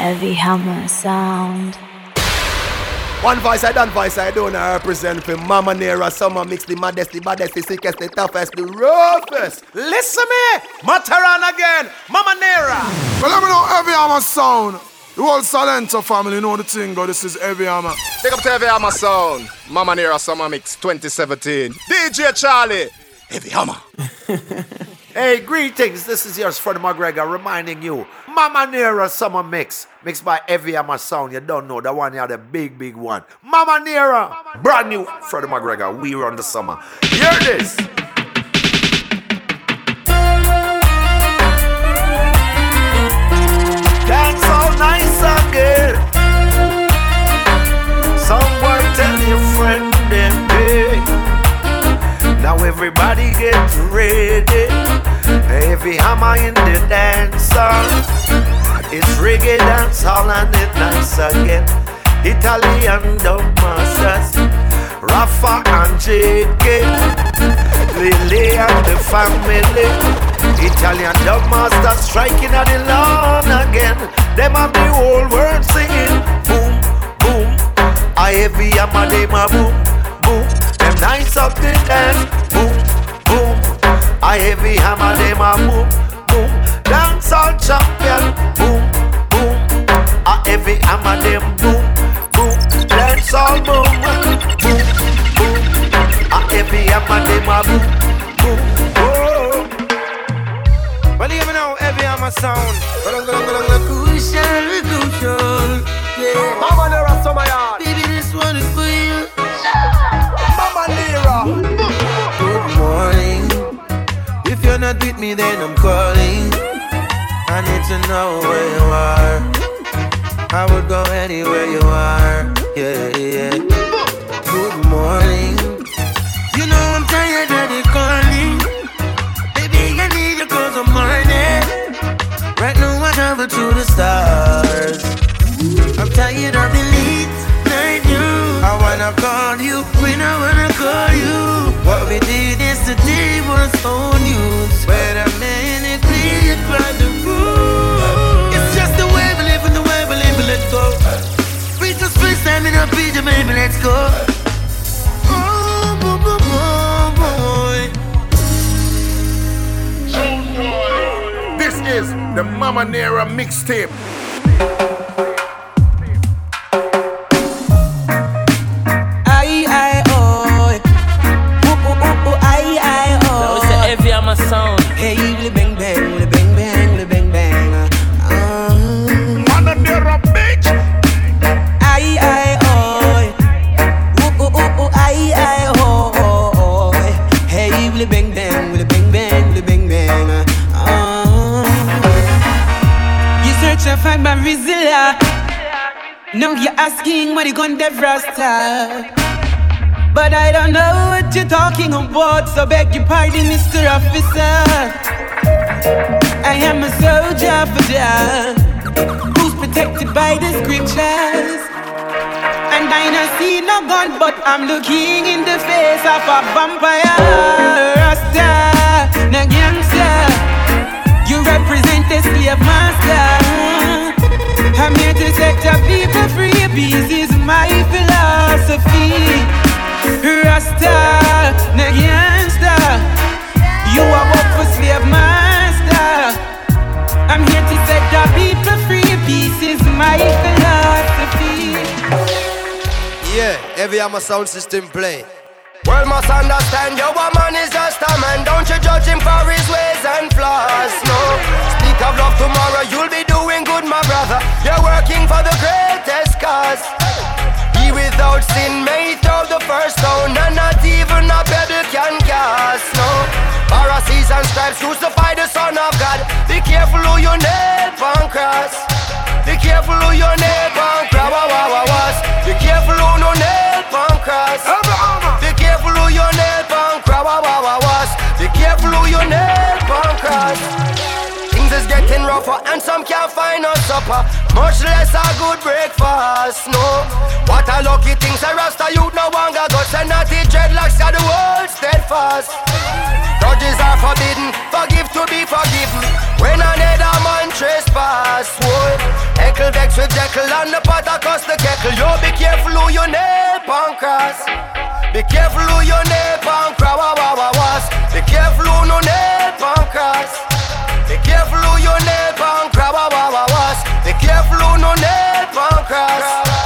Heavy Hammer Sound. One voice I don't represent for Mama Nera, summer mix, the maddest, the baddest, the sickest, the toughest, the roughest. Listen me, Mataran again, Mama Nera. Well, let me know Heavy Hammer Sound. The whole Salento family know the thing, but this is Heavy Hammer. Take up to Heavy Hammer Sound. Mama Nera Summer Mix 2017. DJ Charlie, Heavy Hammer. Hey, greetings. This is yours, Freddie McGregor, reminding you, Mama Nera Summer Mix, mixed by Heavy Hammer Sound. You don't know, the one here, the big, big one. Mama Nera, brand new Freddie McGregor. We run the summer. Hear this. Dance all nice again. Someone tell your friend them, hey. Now everybody get ready. Heavy Hammer in the dance hall. It's reggae dance hall and it's nice again. Italian dub masters, Rafa and JK, Lily and the family. Italian dub masters striking at the lawn again. Them have the whole world singing. Boom, boom. A Heavy Hammer, them a boom, boom. Them nice up the dance. Boom, boom. A Heavy Hammer, them a boom, boom. Dance all champion. Boom, boom. A Heavy Hammer, them boom, boom. Dance all boom, boom, boom. A Heavy Hammer, them a boom, boom, boom. Well, even now, Heavy Hammer Sound. Crucial, yeah. Mama Nera Summer Yard. Baby, this one is for you. Mama Nera. Good morning. If you're not with me, then I'm calling. I need to know where you are. I would go anywhere you are. Yeah, yeah. Good morning. You know I'm tired of the calling. Baby, I need you 'cause I'm morning. Right now I travel to the stars. I'm tired of the late night news. I wanna call you when I wanna call you. What we did yesterday was old news. Wait a minute, please by the rule. It's just the way we live and the way we live, let's go. We just first time in a picture, baby, let's go. Oh, boy, boy, boy. This is the Mama Nera mixtape. Heavy Hammer Sound. Hey, li bang bang, li bang bang, li bang bang. Mama Nera bitch. Ay ay oi. Ay ay oi. Hey, li bang bang, li bang bang, li bang bang. You search and find my Rizilla. Now you're asking what you gonna do Rasta. But I don't know what you're talking about, so beg your pardon, Mr. Officer. I am a soldier for Jah, who's protected by the scriptures. And I don't see no gun, but I'm looking in the face of a vampire. Rasta, no gangster, you represent the slave master. I'm here to set the people free, peace is my philosophy. Rasta, no gangster, you are work for slave master. I'm here to set the people free, peace is my philosophy. Yeah, Heavy Hammer Sound System play. World must understand your woman is just a man. Don't you judge him for his ways and flaws. No, speak of love tomorrow, you'll be doing good, my brother. You're working for the greatest cause. He without sin may throw the first stone, and not even a pebble can cast. No, Pharisees and scribes crucify the Son of God. Be careful who you nail on cross. Be careful who you nail on cross. Be careful who no nail on cross. Be careful who you nail on cross. Be careful who you nail on cross. Things is getting rougher and some can't find no supper, much less a good breakfast. No, what a lucky thing, say Rasta youth no longer guts, and not the dreadlocks got the world steadfast. trespass. Grudges are forbidden, forgive to be forgiven. When another man trespass, whoa. Heckle vex with Jekyll and the pot across the kettle. Yo, be careful who you nail pan cross. Be careful who you nail pan cross. Be careful who no nail pan cross. Be careful who you nail pan cross. Be careful who no nail pan cross.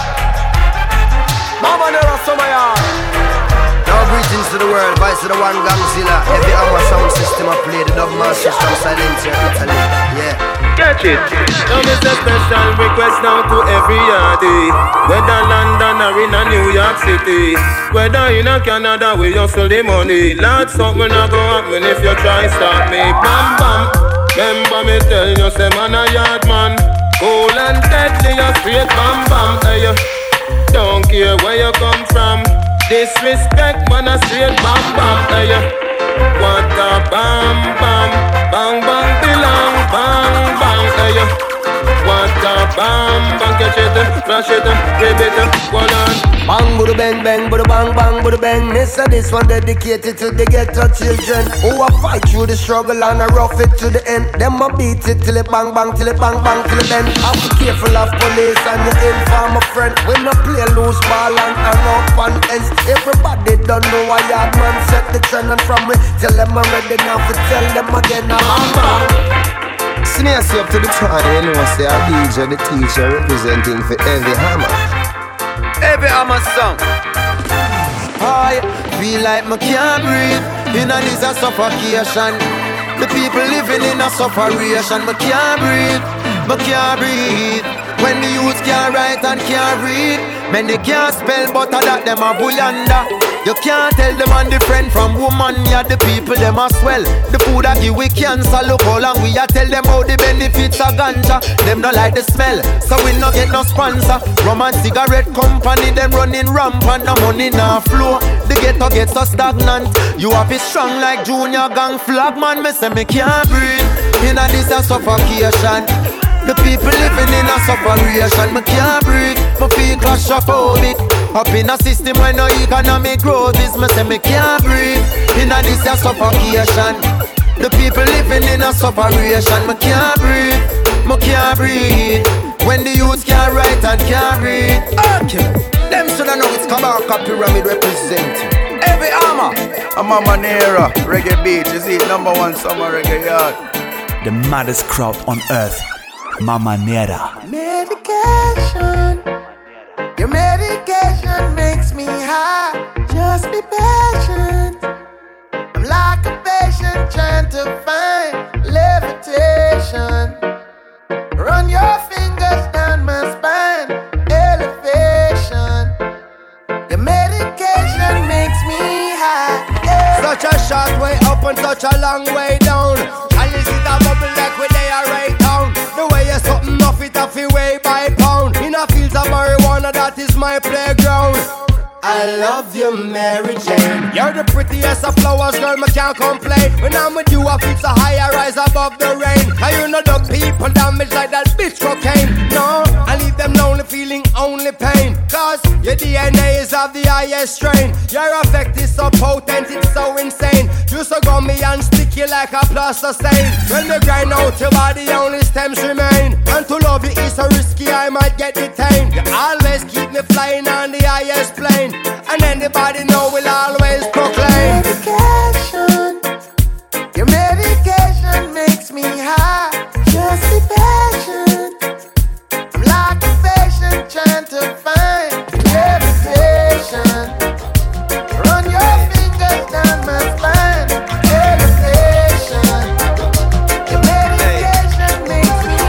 Mama Nera Somaya. Now greetings to the world, vice to the one Gangzilla. Every hour sound system I play, the dub masters from Silentia, Italy. Yeah. Catch it. Now this a special request now to every yardie. Whether London or in a New York City, whether in a Canada we hustle the money. Lord, something not go happen if you try stop me. Bam bam. Remember me tell you, say man a yard man. Cool and deadly, a straight bam bam. Hey, don't care where you come from. Disrespect, man, a straight bam bam. Hey, what a bam bam. Bang bang belong, bang bang. Hey, what a bam bang. Catch it, flash it, grab it, go on. Bang, budu bang, bang, budu bang, bang, budu bang. Mister, this one dedicated to the ghetto children who a fight through the struggle and a rough it to the end. Them a beat it till it bang, bang, till it bang, bang, till it bend. Have to be careful of police and your informer friend. We no play loose ball and hang up on ends. Everybody don't know why yard man set the trend, and from me tell them I'm ready now to tell them again. Bang, bang. Sneeze up to the time, you know, say a DJ, the teacher representing for Heavy Hammer. Heavy Hammer song. I feel like I can't breathe. In a this a suffocation. The people living in a sufferation. I can't breathe. I can't breathe. When the youth can't write and can't read, men they can't spell, but that them a bullanda. You can't tell them man different from woman. Yeah, the people them a swell. The food a give we cancer. Look how long we a tell them how the benefits of ganja. Them don't like the smell, so we no get no sponsor. Rum and cigarette company, them running rampant. No money na flow. The ghetto get so stagnant. You have it strong like Junior Gang flag man. Me say me can't breathe. In a this a suffocation. The people living in a sufferation. Me can't breathe. Me feel claustrophobic. Up in a system where no economic growth is. Me say me can't breathe. In a this a suffocation. The people living in a sufferation. Me can't breathe. Me can't breathe. When the youth can't write and can't read. Okay. Them shoulda know it's Kabaka Pyramid representing Heavy Hammer. I'm Mama Nera, Reggae Beach. You see, #1 summer reggae yard. The maddest crowd on earth, Mama Nera. Medication. Your medication makes me high. Just be patient. I'm like a patient trying to find levitation. Run your fingers down my spine. Elevation. The medication makes me high. Yeah. Such a short way up and such a long way down. And you see that bubble like where they are right down. The way you're something off it off your way by pound. In a field of marijuana, that is my playground. I love you, Mary Jane. You're the prettiest of flowers, girl, me can't complain. When I'm with you, I feel so high, I rise above the rain. And you know the people damage like that bitch cocaine. No, I leave them lonely, feeling only pain. Cause your DNA is of the highest strain. Your effect is so potent, it's so insane. You so gummy and sticky like a plaster stain. When they grind out your body, only stems remain. And to love you is so risky, I might get detained. You always keep me flying on the highest plane. And anybody know will always proclaim medication. Your medication makes me high. Just be patient. I'm like a patient trying to find levitation. Run your fingers down my spine. Elevation. Your medication makes me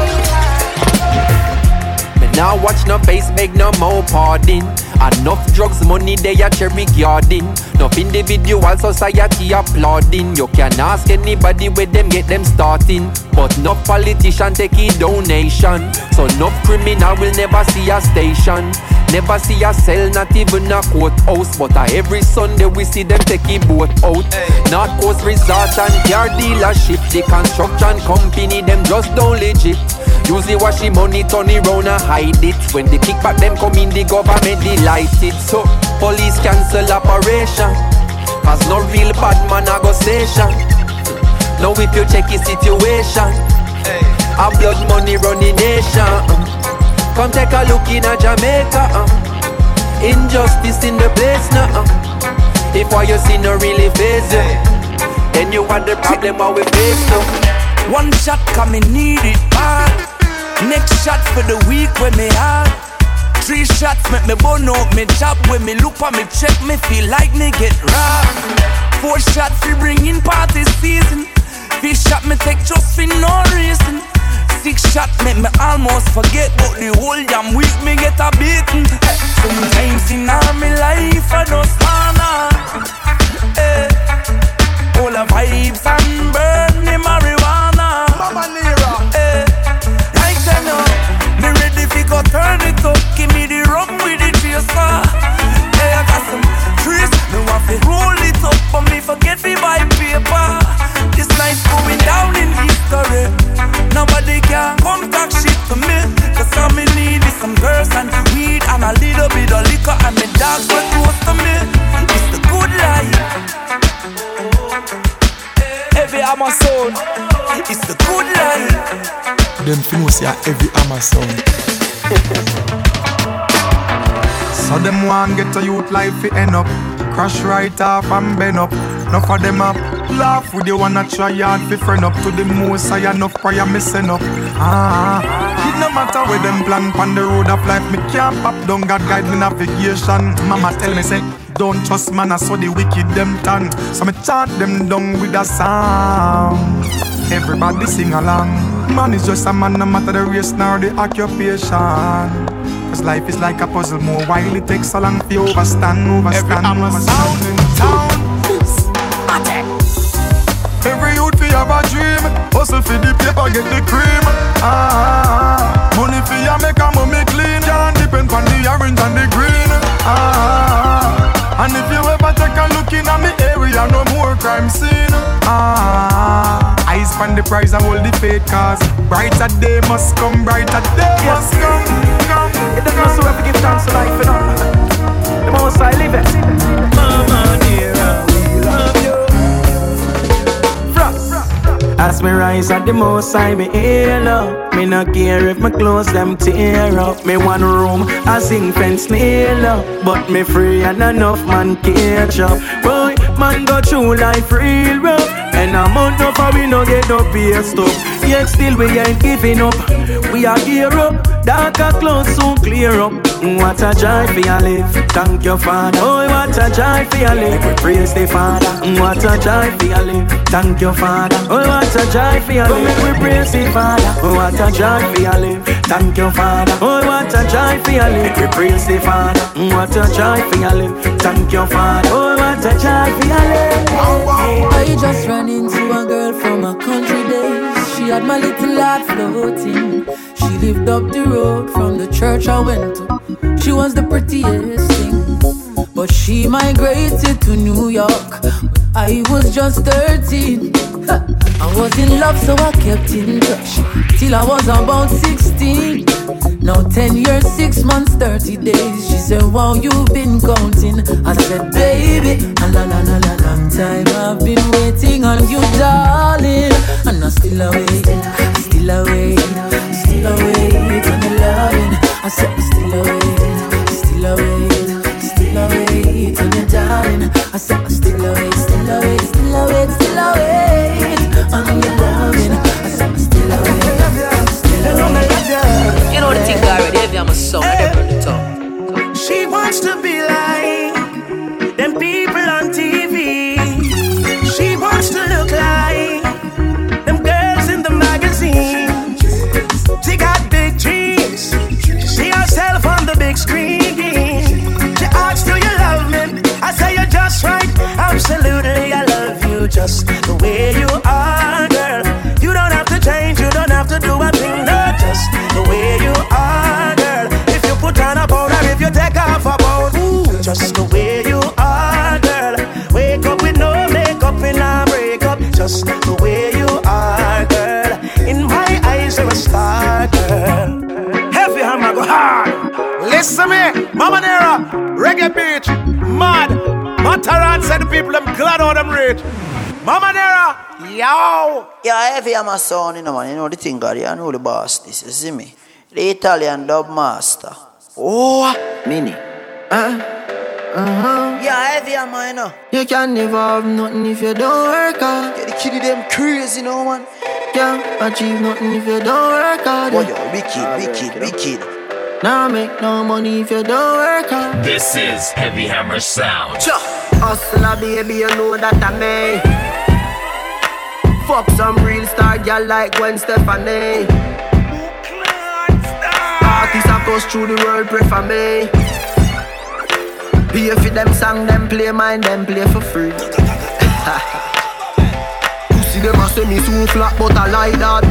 high. Me now watch no face, beg no more pardon. Enough drugs, money, they are cherry garden. Enough individual society applauding. You can ask anybody where them get them starting. But no politician take a donation. So no criminal will never see a station. Never see a cell, not even a courthouse. But every Sunday we see them take a boat out. North Coast Resort and car dealership. The construction company, them just don't legit. Usually wash the money, turn it round and hide it. When the kickback them come in, the government delight it. So police cancel operation. Cause no real bad man a go station. Now if you check his situation, a blood money running nation. Come take a look in a Jamaica. Injustice in the place now. If what you see no really face you, then you want the problem what we face now. One shot come me need it bad. Next shot for the week when me hard. 3 shots make me burn out me job. When me look for me check me feel like me get robbed. 4 shots we bring in party season. 5 shot me take just for no reason. 6 shot make me almost forget, but the whole damn week me get a beating. Sometimes in all my life I just wanna all the vibes and burn the marijuana. Mama Nera. Like I know, me ready fi go turn it up. Give me the rum with the chaser. Hey, I got some trees, me want fi roll it up, but me forget fi buy paper. This life's going down in history. Nobody can come talk shit to me. Cause all me need is some girls and weed and a little bit of liquor, and me dogs were close to me. It's the good life. Heavy Amazon, it's the good life. Them finus ya heavy Amazon. So them want get a youth life fi end up. Crash right off and bend up. Enough of them up. Laugh with you wanna try hard fi friend up. To the most I enough prayer me send up. It no matter where them plan pon the road of life. Me can't pop down, God guide me navigation. Mama tell me say, don't trust man, I saw the wicked them turn. So me chant them down with a song. Everybody sing along. Man is just a man, no matter the race nor the occupation. Cause life is like a puzzle, more while it takes so long to overstand. Every sound in town. Every youth fi have a dream. Hustle fi the paper, get the cream. Money fi ya make a mommy clean. Can't depend on the orange and the green. And if you ever take a look in at me area, no more crime scene. Eyes on the prize and hold the faith, cause brighter day must come, brighter day must come. It doesn't so have to give thanks to life, you know. The most I live it. Mama Nera, we love you. As me rise at the most I be hail up. Me no care if my clothes them tear up. Me one room, I sing fence nail up. But me free and enough man catch up. Boy, man go through life real rough. And a month of we no get no pay stuff. Yet still we ain't giving up. We are gear up. Darker clothes soon clear up. What a joy for your life. Thank your Father. Oh, what a joy for your life. We praise the Father. What a joy for your life. Thank your Father. Oh, what a joy for your life. We praise the Father. Oh, what a joy for your life. Thank your Father. Oh, what a joy for your life. We praise the Father. What a joy for your life. Thank your Father. Oh, what a joy for your life. I just ran into a girl from a country days. She had my little heart floating. She lived up the road from the church I went to. She was the prettiest thing, but she migrated to New York. I was just 13. I was in love, so I kept in touch till I was about 16. Now 10 years, 6 months, 30 days. She said, wow, you've been counting. I said, baby, a long time I've been waiting on you, darling. And I'm still awake, still awake, still awake on the loving. I said, I'm still awake, still awake, still awake on the darling. I said, I'm still awake, still awake, still awake, still awake on your loving. I said, I'm still awake, still awake. You know the thing already, if I'm a song, I never the top. She wants to be like them people on TV. She wants to look like them girls in the magazine. She got big dreams. She see herself on the big screen. She asks, do you love me? I say you're just right. Absolutely, I love you just the way you are, girl. You don't have to change, you don't have to do a thing, no, just the way you are, girl. If you put on a powder, if you take off a bone, ooh, just the way you are, girl. Wake up with no makeup in a breakup, just the way you are, girl. In my eyes, you're a star, girl. Heavy hammer go hard. Listen me, Mama Nera, reggae beach, mad Mataran said the people them glad how them rich. Mama Nera, yo. Yeah, heavy I'm a son, you know, man. You know the thing, God. You know the boss. This you see me. The Italian dub master. Oh, Mini. Yeah, heavy I'm a, you know. You can never have nothing if you don't work hard. Yeah, the kid them crazy, you know, man. Can't achieve nothing if you don't work hard. Oh, yo, wicked. Now make no money if you don't work hard. This is Heavy Hammer Sound. Hustler, baby, you know that I may. Fuck some real star girl like Gwen Stefani. Artists across through the world pray for me. Pay for them song, them play mine, them play for free. Pussy them a say me so flat, but I like that.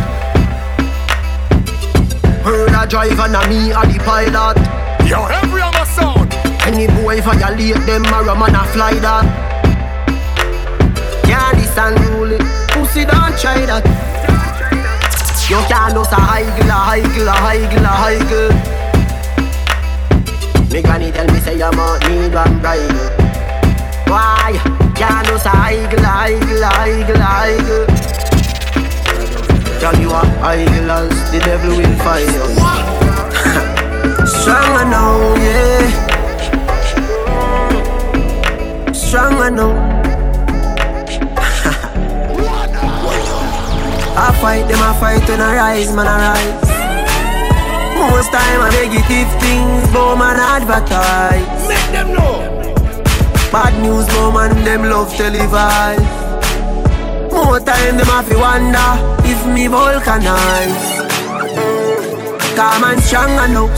Heard a driver and me a the pilot. Yo, every other sound. Any boy violate them, a man a fly that. Can't this and rule it. Pussy don't try that. You can't lose a higgle. Me granny tell me say you might need one bride. Why? Can't lose a higgle. Girl, you are idle as the devil will find you. Strong now, yeah. Strong now. I fight them, I fight when I rise, man, I rise. Most time I negative things, but man advertise. Make them know. Bad news, but man them love televise. More time them have to wonder if me vulcanize. Calm and stronger now.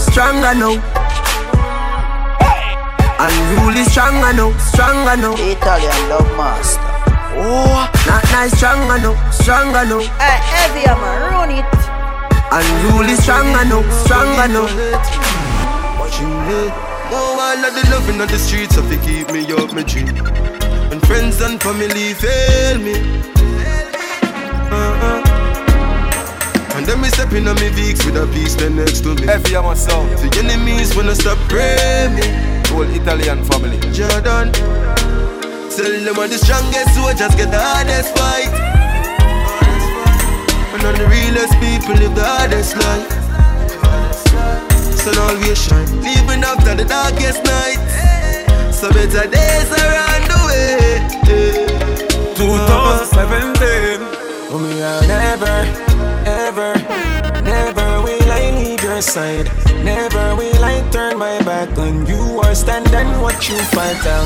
And really stronger now. Italian dub master. Oh, not nice, stronger now. Hey, heavy I'm a run it. And really stronger now. Oh, I love the loving on the streets, so they keep me up my dream. When friends and family fail me. And then me stepping on me Vicks with a piece then next to me. Heavy on my sound. The enemies wanna stop praying me. Whole Italian family. Jordan, tell them all the strongest soldiers get the hardest fight. And all the realest people live the hardest life. Sun always shine, even after the darkest night. So better days around the way. 2017. Oh, me I'll never will I leave your side. Never will I turn my back on you or stand and watch you fight. I'll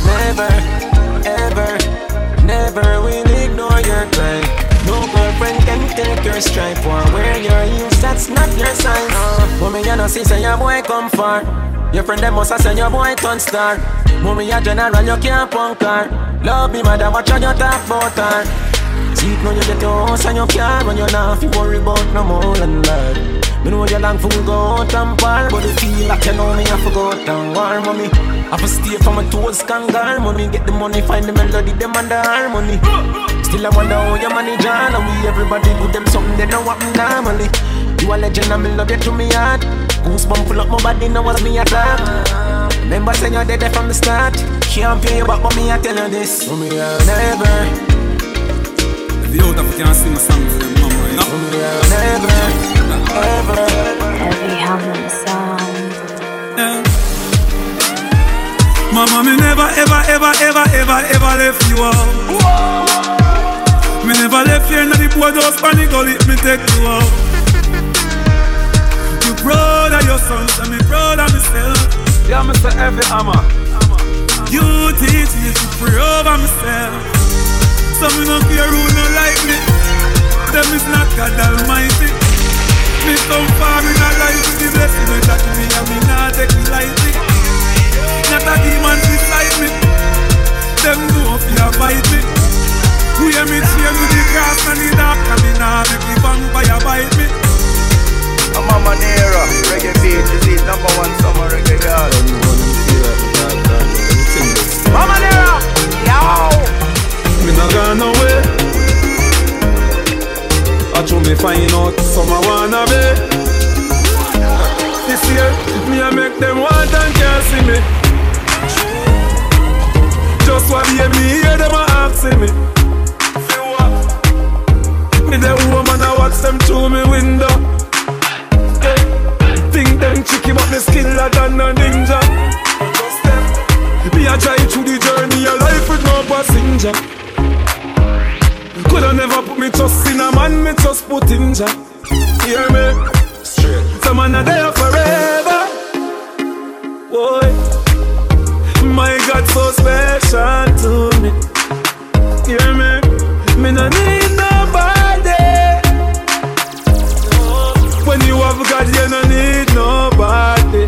never will ignore your cry. No girlfriend can take your stripe or wear your heels, that's not your size. Mommy, you know, see, say your boy come far. Your friend, them must have said your boy turn star. Mommy, a general, you can't punk her. Love me, mother, watch how you talk about her. See it now you get your house and your car. When you're not, you worry about no more than that. Me know you long for go out and par, but you feel like you know me, I forgot and war, mommy. I for stay for my toes, kangar, money. Get the money, find the melody, them and the harmony. Still I wonder how you manage on. And we everybody good them something, they know what me normally. You a legend and me love you to me heart. Goosebump full up my body, now was me attack. Remember saying you're dead from the start. Can't pay you back, but me I tell you this. Mommy, I'll never. If you out of you can't sing a song to them, mama, you know? Mommy, I'll never, ever. Heavy Hammer Sound. Yeah. Mama, me never, ever left you out. Me never left you in the boardhouse, panic gully, me take you out. You proud of your sons, and me proud of myself. Yeah, Mr. Heavy Hammer. You teach me to pray over myself. So me no care who no like me. Them is not God Almighty. Me come far in a life with the blessing we got me, and me not take it lightly. Not a demon beside me. Them know if you fight me. We hear me chain with the grass and the dark, and me nah make the vampire bite me. I'm Mama Nera, reggae beat is it #1 summer reggae girl. Mama Nera, yo. Me not gone away. I try me find out some I wanna be. This year, me I make them want and can't see me. Just what the better than a ninja. Me a drive through the journey of life with no passenger. Coulda never put me trust in a man, me just put in Jah. Hear me? Straight. Some man are there forever. Boy, my God so special to me. Hear me? Me no need nobody. When you have God, you no need nobody.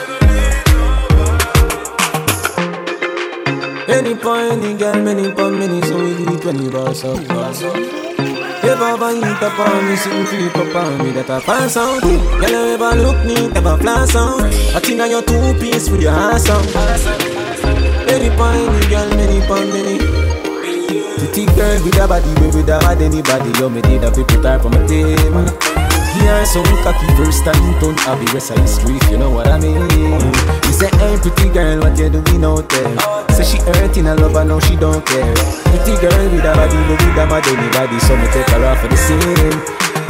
Any point, any girl, many pound, many, so we do it when you boss up. Ever eat up on me, sitting creep up on me, that I pass out. Girl, you ever look neat, ever flash out. I think on your two-piece with your ass out. Any point, any girl, many pound, many. Pretty girl with a body, with a bad anybody. You me did a bit prepare for my team. Here some cocky first time, don't have the rest of the street, you know what I mean? You say, hey pretty girl, what you doing out there? Say she hurting a lover, now she don't care. Pretty girl with a body, with a bad anybody, so me take her off for the scene.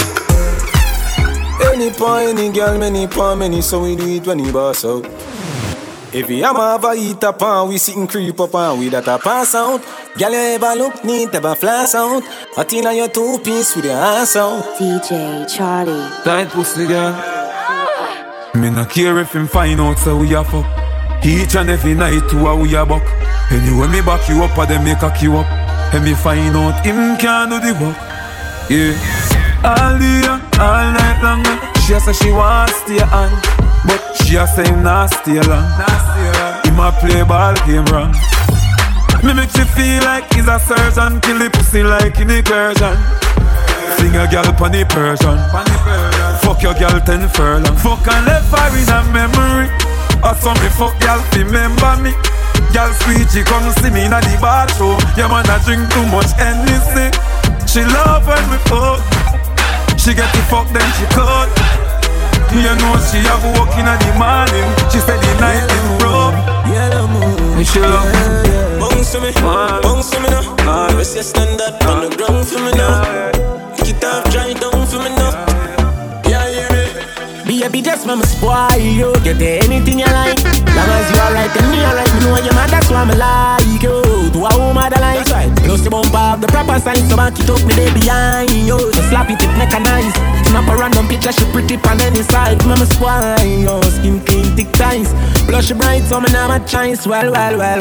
Any point, any girl, many pound, many, so we do it when you boss out. If you ever eat up and we sit and creep up and we that a pass out. Girl, you ever look neat, ever flash out. I think on your two-piece with your ass out. DJ Charlie. Tight pussy girl. Me not care if him find out so we a fuck. Each and every night to a we a buck. Anyway me back you up or them make a queue up. And me find out him can't do the work. Yeah. All day, all night long. She say she wants to stay on, but she a say him not stay long. Him a play ball game wrong. Me make she feel like he's a surgeon. Kill the pussy like in incursion. Sing a girl pon the Persian. Fuck your girl 10 furlong. Fuck and left her in a memory. Or some me fuck girl remember me. Girl sweet she come see me in the bathroom. Yeah man I drink too much Hennessy. She love when we fuck. She get the fuck then she cut. You know she have walk in the morning. She said the night is rough. And she love me. Bounce to me, bounce to me now. Rest your standard on the ground for me now. Pick it up, dry down for me now. Yeah, hear me. Baby, just mama spoil you. Get anything you like. Long as you alright and me alright. You know you're mad, that's why I like you. To a woman that likes right. Plus the bump up the proper sign. So back it up me there behind you. Just slap it, mechanized. Snap a random picture, she pretty on any side. Mama spoil you. Skin clean, thick ties. Blush bright, so me now my choice. Well.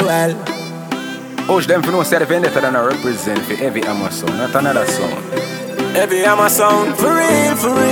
Push them for no say the vendetta than I represent for every Hammer sound, not another sound. Every Hammer sound, for real.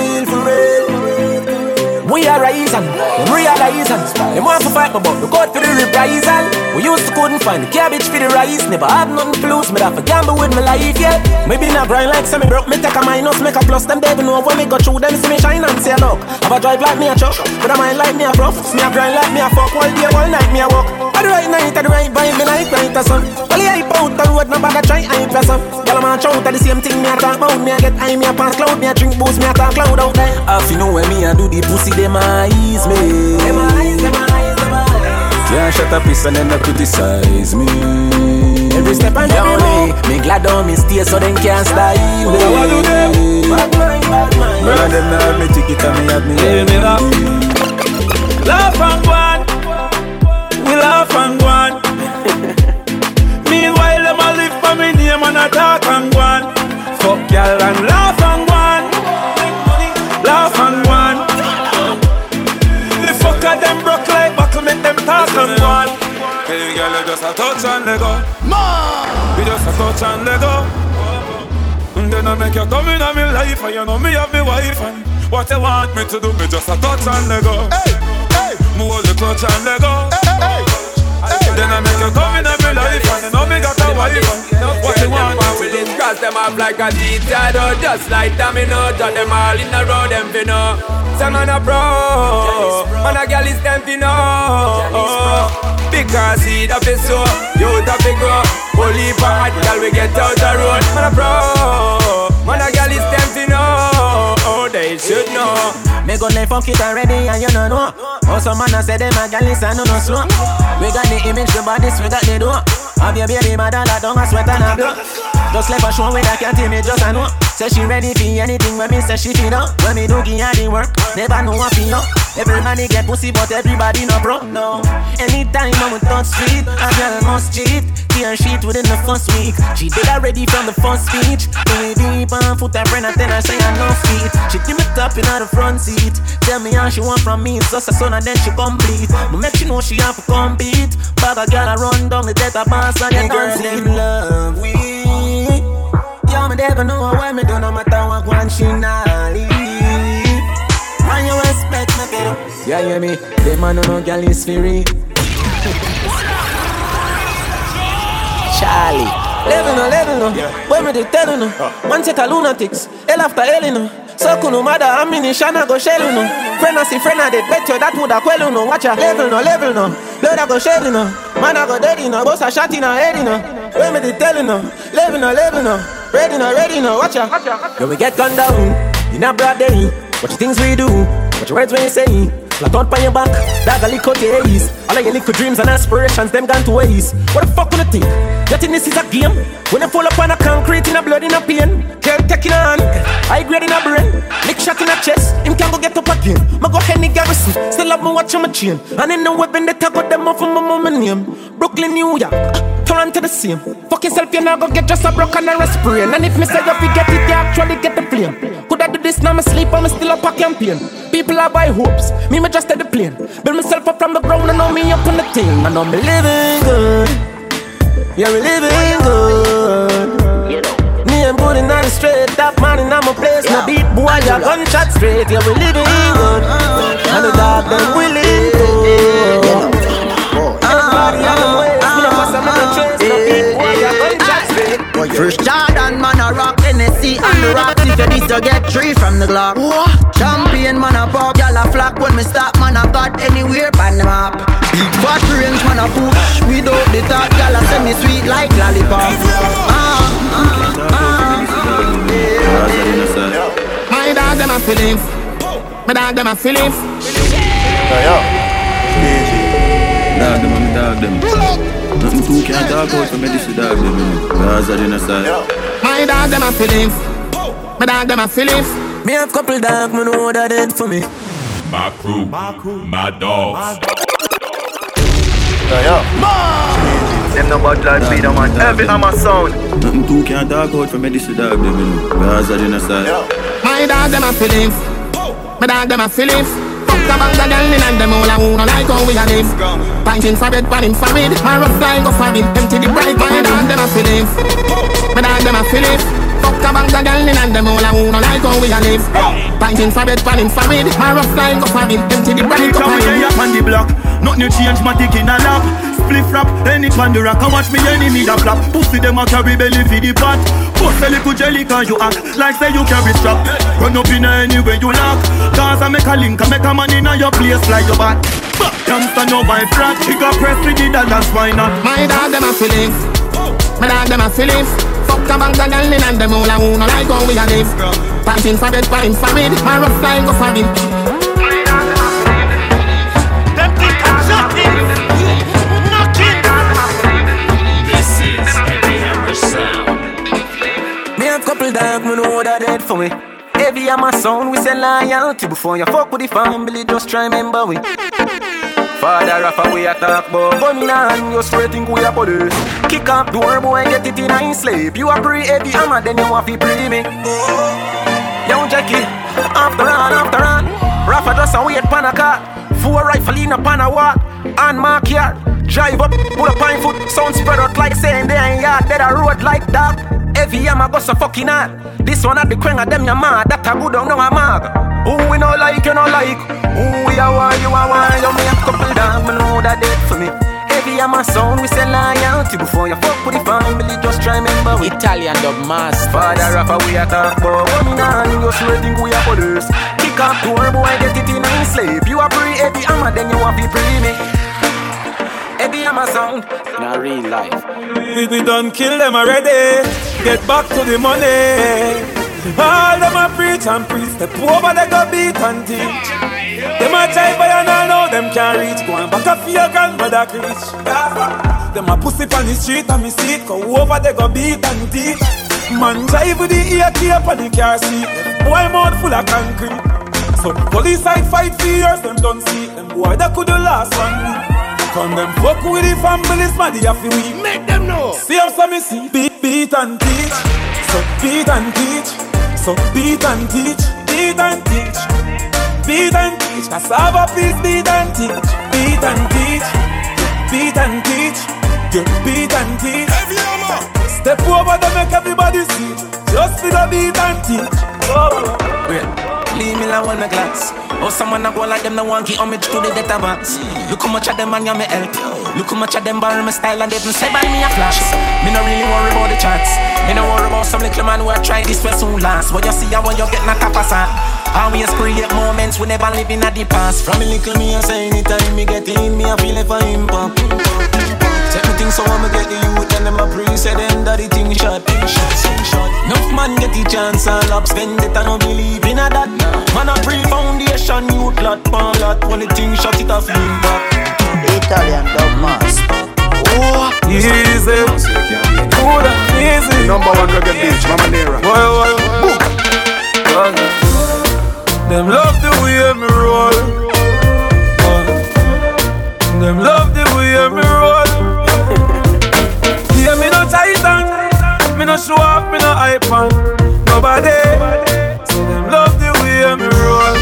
We are rising, realizing. They want to fight me, but we got for the reprisal. We used to couldn't find the cabbage for the rice. Never had nothing to lose, me have to gamble with my life, yeah. Maybe not grind like semi broke, me take a minus, make a plus. Them they even know when me go through them, see me shine and say look. Have a drive like me a truck, but a mind like me a rough. Me a grind like me a fuck, all day, all night me a walk. At the right night, at the right vibe, me like right or sun. Well, I hype out the road, no bother try hype or some. Y'all man shout at the same thing, me a talk about. Me a get high, me a pass cloud, me a drink booze, me a talk loud out there. If you know when me a do the pussy, them eyes me. Them eyes. Can't shut up piece and then they criticize me. Every step and every move. Me glad on me stay so them can't style me. What do them? Bad mind. Well and them have me ticket and me have me laugh and go on. We laugh and go on. Meanwhile them a live for me name and a talk and go on. Fuck y'all and laugh and go on. Laugh and go on. The fucker them broke like buckle, make them talk and go on. Hey girl, you just a touch and let go. You just a touch and let go. And then I make you come in on me life, and you know me have me wife. And what you want me to do, me just a touch and let go. Move the clutch and let go. Then I make you come in on me life, and you know me got a wife. What you want me to do? Cross them off like a detail, just like domino. Drop them all in a row, them fi know. Some man a pro, man a girl is them fi know. Because he da fi so, you da fi grow. Only for hot girl we get out the road. Man a pro, man a girl is them fi know. Oh, they should know. Me gun they fuck it already and you don't know. Also man a say them a girl is and no slow. We got the image, the bodies, we got the door. Have your baby mother that don't a sweat and a blow. Just left a show with I can't tell me just a know. Say she ready for anything when me say she feel up. When me do give her the work, never know what feel up. Everybody get pussy but everybody no bro, no. Anytime I'm with touch street, a girl must cheat. Tear sheet within the first week. She did already from the first speech. Do it deep and foot her friend and tell her say I no feet. She give me top in the front seat. Tell me how she want from me, it's just a son and then she complete. But make she know she have to compete. Bag a girl a run down the death of boss and you can't see love we. Yo, me never know what me do no matter what one she not leave. When you respect me, kiddo. Yeah, hear me? Them man no girl is free. Charlie. Level no. When me dey tell you no. One set of lunatics. Hell after hell you know. So kuno mother ammunition I go shell you know. Friend I see friend I did bet you that woulda quell you know. Watch ya. Level no. Blood I go shed you know. Man I go dead you know. Boss a shot in her head you know. When me dey tell you no. Level no. Ready no. Watch ya. Yo we get gunned down in a broad day. What you things we do? What your words when you say? Flat out by your back, dog a lick out your ace. All of your little dreams and aspirations, them gone to waste. What the fuck will you think? You think this is a game? When you fall upon a concrete in a blood in a pain. Girl taking a hand, high grade in a brain. Lick shot in a chest, him can go get up again. Ma go Henny Garrison, still have me watch on my chain. And in the weapon they got them off of my mama name. Brooklyn, New York, Toronto the same. Fuck yourself, you now go get just a broken and a sprain. And if me say you forget it, you actually get the flame. Could I do this now, me sleep, I'm still up a campaign. People are by hopes, me just at the plane. Build myself up from the ground and know me up on the thing. I know me living good. Yeah, we living good. Me and Booty not straight. Top man in my place. No beat boy, ya gunshot straight. Yeah, we living good. And the dog them willing to. Everybody on the way. Me no pass on the trace. No beat boy, ya gunshot straight. First Jordan man a rock Hennessy and the rocks. If you this you get 3 from the Glock. Champion man a pop, y'all a flock. When me stop man a got anywhere pan the map. Big fat range man a push. Without the top, y'all a send me sweet like lollipop. My dog them a feelings. My dog them a feelings. Dog them, I'm dog them. Nothing too can't talk out for me, this is dog them. Cause I didn't say. My dog them a feelings. My dog them a feelings. Me have couple dog, me know that it for me. My crew, my dogs. Them no bad like me, man. Every hammer sound. Nothing too can't talk out for me, this is dog them. Cause I didn't say. My dog them a feelings. My dog them a feelings. Fuck about the girl in them all a who no like how we a live. Pinting for bed, panning for weed. My rough flying go for it. Empty the bright. My dog them a feelings. My dog them a feelings. Fuck about the girl in them all a who no like how we a live. Pinting for bed, panning for weed. My rough flying go for it. Empty the bright. Come here, on the block. Nothing change, my dick in a lap. Spliff rap, any pan the rock. I watch me enemy da flap. Pussy them a carry belly for the pot. Post a little jelly cause you act like say you carry strap. Run up in anywhere you lock. Cause I make a link, I make a man in your place like your bat. Youngster no buy flat. She got press with the dollars, why not? My dog them a feelings. My dog them a feelings. Fuck about the girl in them all a who no like how we a live. Pinting for bed, pinting for weed. My rough flying go for it. Couple dog, me know that it for me. Heavy hammer sound, we say loyalty. Before you fuck with the family, just try remember we. Father Rafa, we attack, but gun in hand, you straight think we are police. Kick up door, boy, get it in a sleep. You a pre-heavy hammer, then you want to pre me. Young Jackie, after all, Rafa just a wait pan a car. 4 rifle in a pan a walk. And mark yard, drive up, put a pine foot. Sound spread out like saying they ain't yard. Dead a road like that. Every year I go so fucking hard. This one at the queen of them, your mad. That a good don't know a mag. Who we no like, you no like. Who we are one, you are one. You me a couple down, me know that dead for me. Every year my sound, we say loyalty. Before you fuck with the family, just try remember we. Italian dub master. Father Rafa, we attack, but one man, you sure think we are police. Kick up door, boy, get it in a sleep. You are free, every hammer, then you want to free me. Every hammer sound, not real life. We done kill them already. Get back to the money. All them a preach and preach. The poor they go beat and teach. Them a jive by and all know them can't reach. Go and back up for your grandmother preach. them a pussy on the street and me see it. Go over they go beat and teeth. Man drive with the AK up on the car seat. Boy mouth full of concrete. So the police side fight for years, them don't see them boy that could the last 1 week. From them fuck with the families, man, they have to we make them know. See how some me see, beat and teach. So beat and teach. So beat and teach. Beat and teach. Beat and teach. Cassava peace, beat and teach. Beat and teach. Beat and teach. You beat and teach. Step over to make everybody see. Just for the beat and teach. Wait. Leave me alone, my glass. Oh, someone a go like them, no one give homage to the database. Look how much of them man, you me help. Look how much of them borrow my style and they even say buy me a flash. Me no really worry about the charts. Me no worry about some little man who a try this way soon last. What you see and what you get not tap aside. Always create moments we never live in at the past. From a little me I say anytime me get in, me I feel it for impact. Check me things so I'ma get the youth and them a pre-say them that the thing shot. Enough man get the chance and love spend it and no believe in a that. Man a pre-foundation youth lot, pan lot. When the thing shot it off impact. Italian dub master. Oh, easy, good and easy. Number 1 reggae bitch, Mama Nera. Them love the way me roll. Them love the way me roll. Yeah, me no titan, me no show off, me no hype on nobody. So them love the way me roll.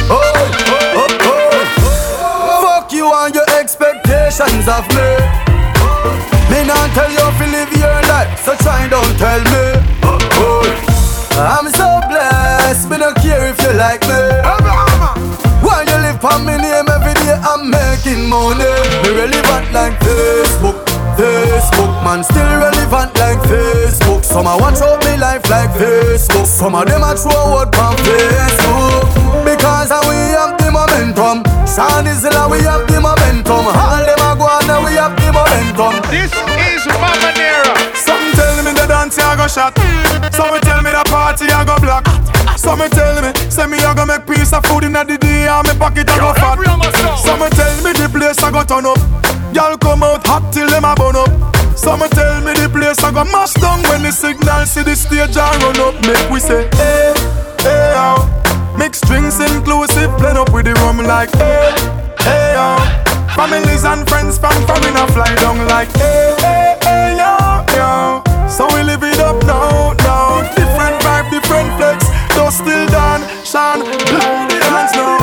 Fuck you and your expectations of me. Me not tell you to live your life, so try don't tell me. I'm so blessed, me don't care if you like me. While you live on me name every day, I'm making money. Me relevant like Facebook, man, still relevant like Facebook. Some a watch out me life like Facebook. Some of them a throw out on Facebook. Because we have the momentum. Sound is like we have the momentum. All them a go on and we have the momentum. This is Mama Nera. Some tell me the dance I go shot. Some tell me the party I go block. Some tell me, say me I go make piece of food in the day and me pocket I go fat. Some tell me the place I go turn up. Y'all come out hot till them a burn up. Some tell me the place I go mash down when the signal see the stage and run up. Make we say, hey, hey, oh. Mixed drinks inclusive, blend up with the rum like, hey, hey, oh. Families and friends from in a fly down like, hey, hey, hey, yo, yo. So we live it up now, now. Different vibe, different flex. Though still done, shine, blow the hands now.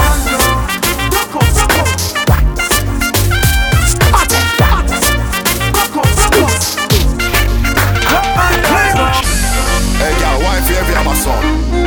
Hey, girl, why if you ever have a son?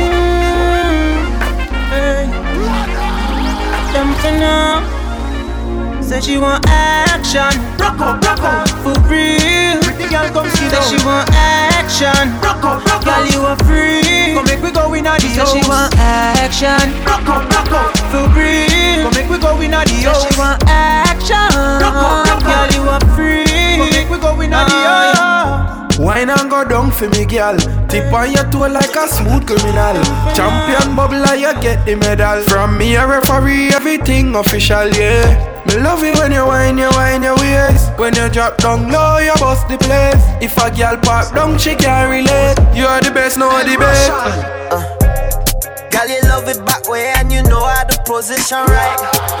Hey, them for now. Say she want action. Rocko, for real. Pretty girl come see that she want action. Rocko, girl you are free. Come make we go in a the house. Say she want action. Rocko, for real. Come make we go in a the house. Say she want action. Rocko, girl you are free. Come make we go in a the house. Wine and go down for me, girl. Tip on your toe like a smooth criminal. Champion bubbler, you get the medal. From me a referee, everything official, yeah. Me love it when you whine your waist. When you drop down low, you bust the place. If a girl park down, she can't relate. You are the best, no the best. Girl, you love it back way and you know how to position right.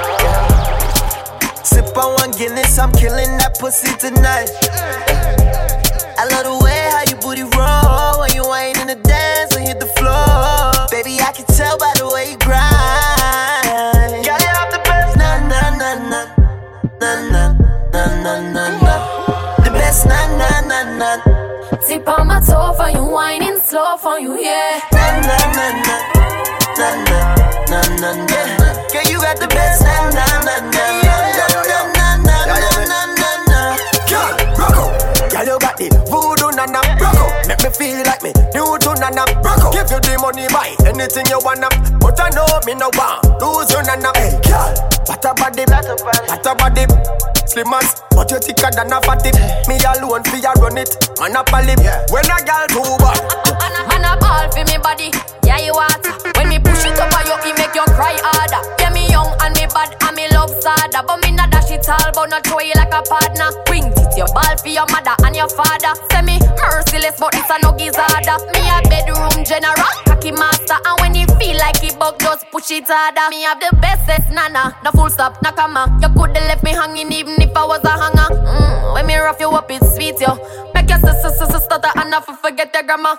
Sip on one Guinness, I'm killing that pussy tonight. I love the way how you booty roll when you whine in the dance and hit the floor. Baby, I can tell by the way you grind. Girl, you have the best, na na na na na na na na na na. The best, na na na na. Tip on my toe for you, whining slow for you, yeah. Na na na na na na na na na. Girl, you got the best, na na na na na na na na na. Girl, rock out. Girl, you got the voodoo nana, rock out. Make me feel like me new to nana, rock out. Give you the money, buy anything you wanna. But I know me no want lose you nana. Hey, girl, what a body, what a body. Slim as, but you thicker than a fatty. Me alone for you run it, man up a lip. When a girl too bad, man a ball for me body, yeah you want. When me push it up on you, it make you cry harder. Yeah me young and me bad and me love sada. But me not dash it all, but not throw you like a partner. Bring it your ball for your mother and your father. Say me merciless, but it's a no gizzarder. Me a bedroom general, cocky master. And when you feel like it bug, just push it harder. Me have the bestest nana, no full stop, no comma. You coulda left me hanging even if I was a hanger. When me rough you up, it's sweet, yo. Make your sister stutter and not forget your grammar.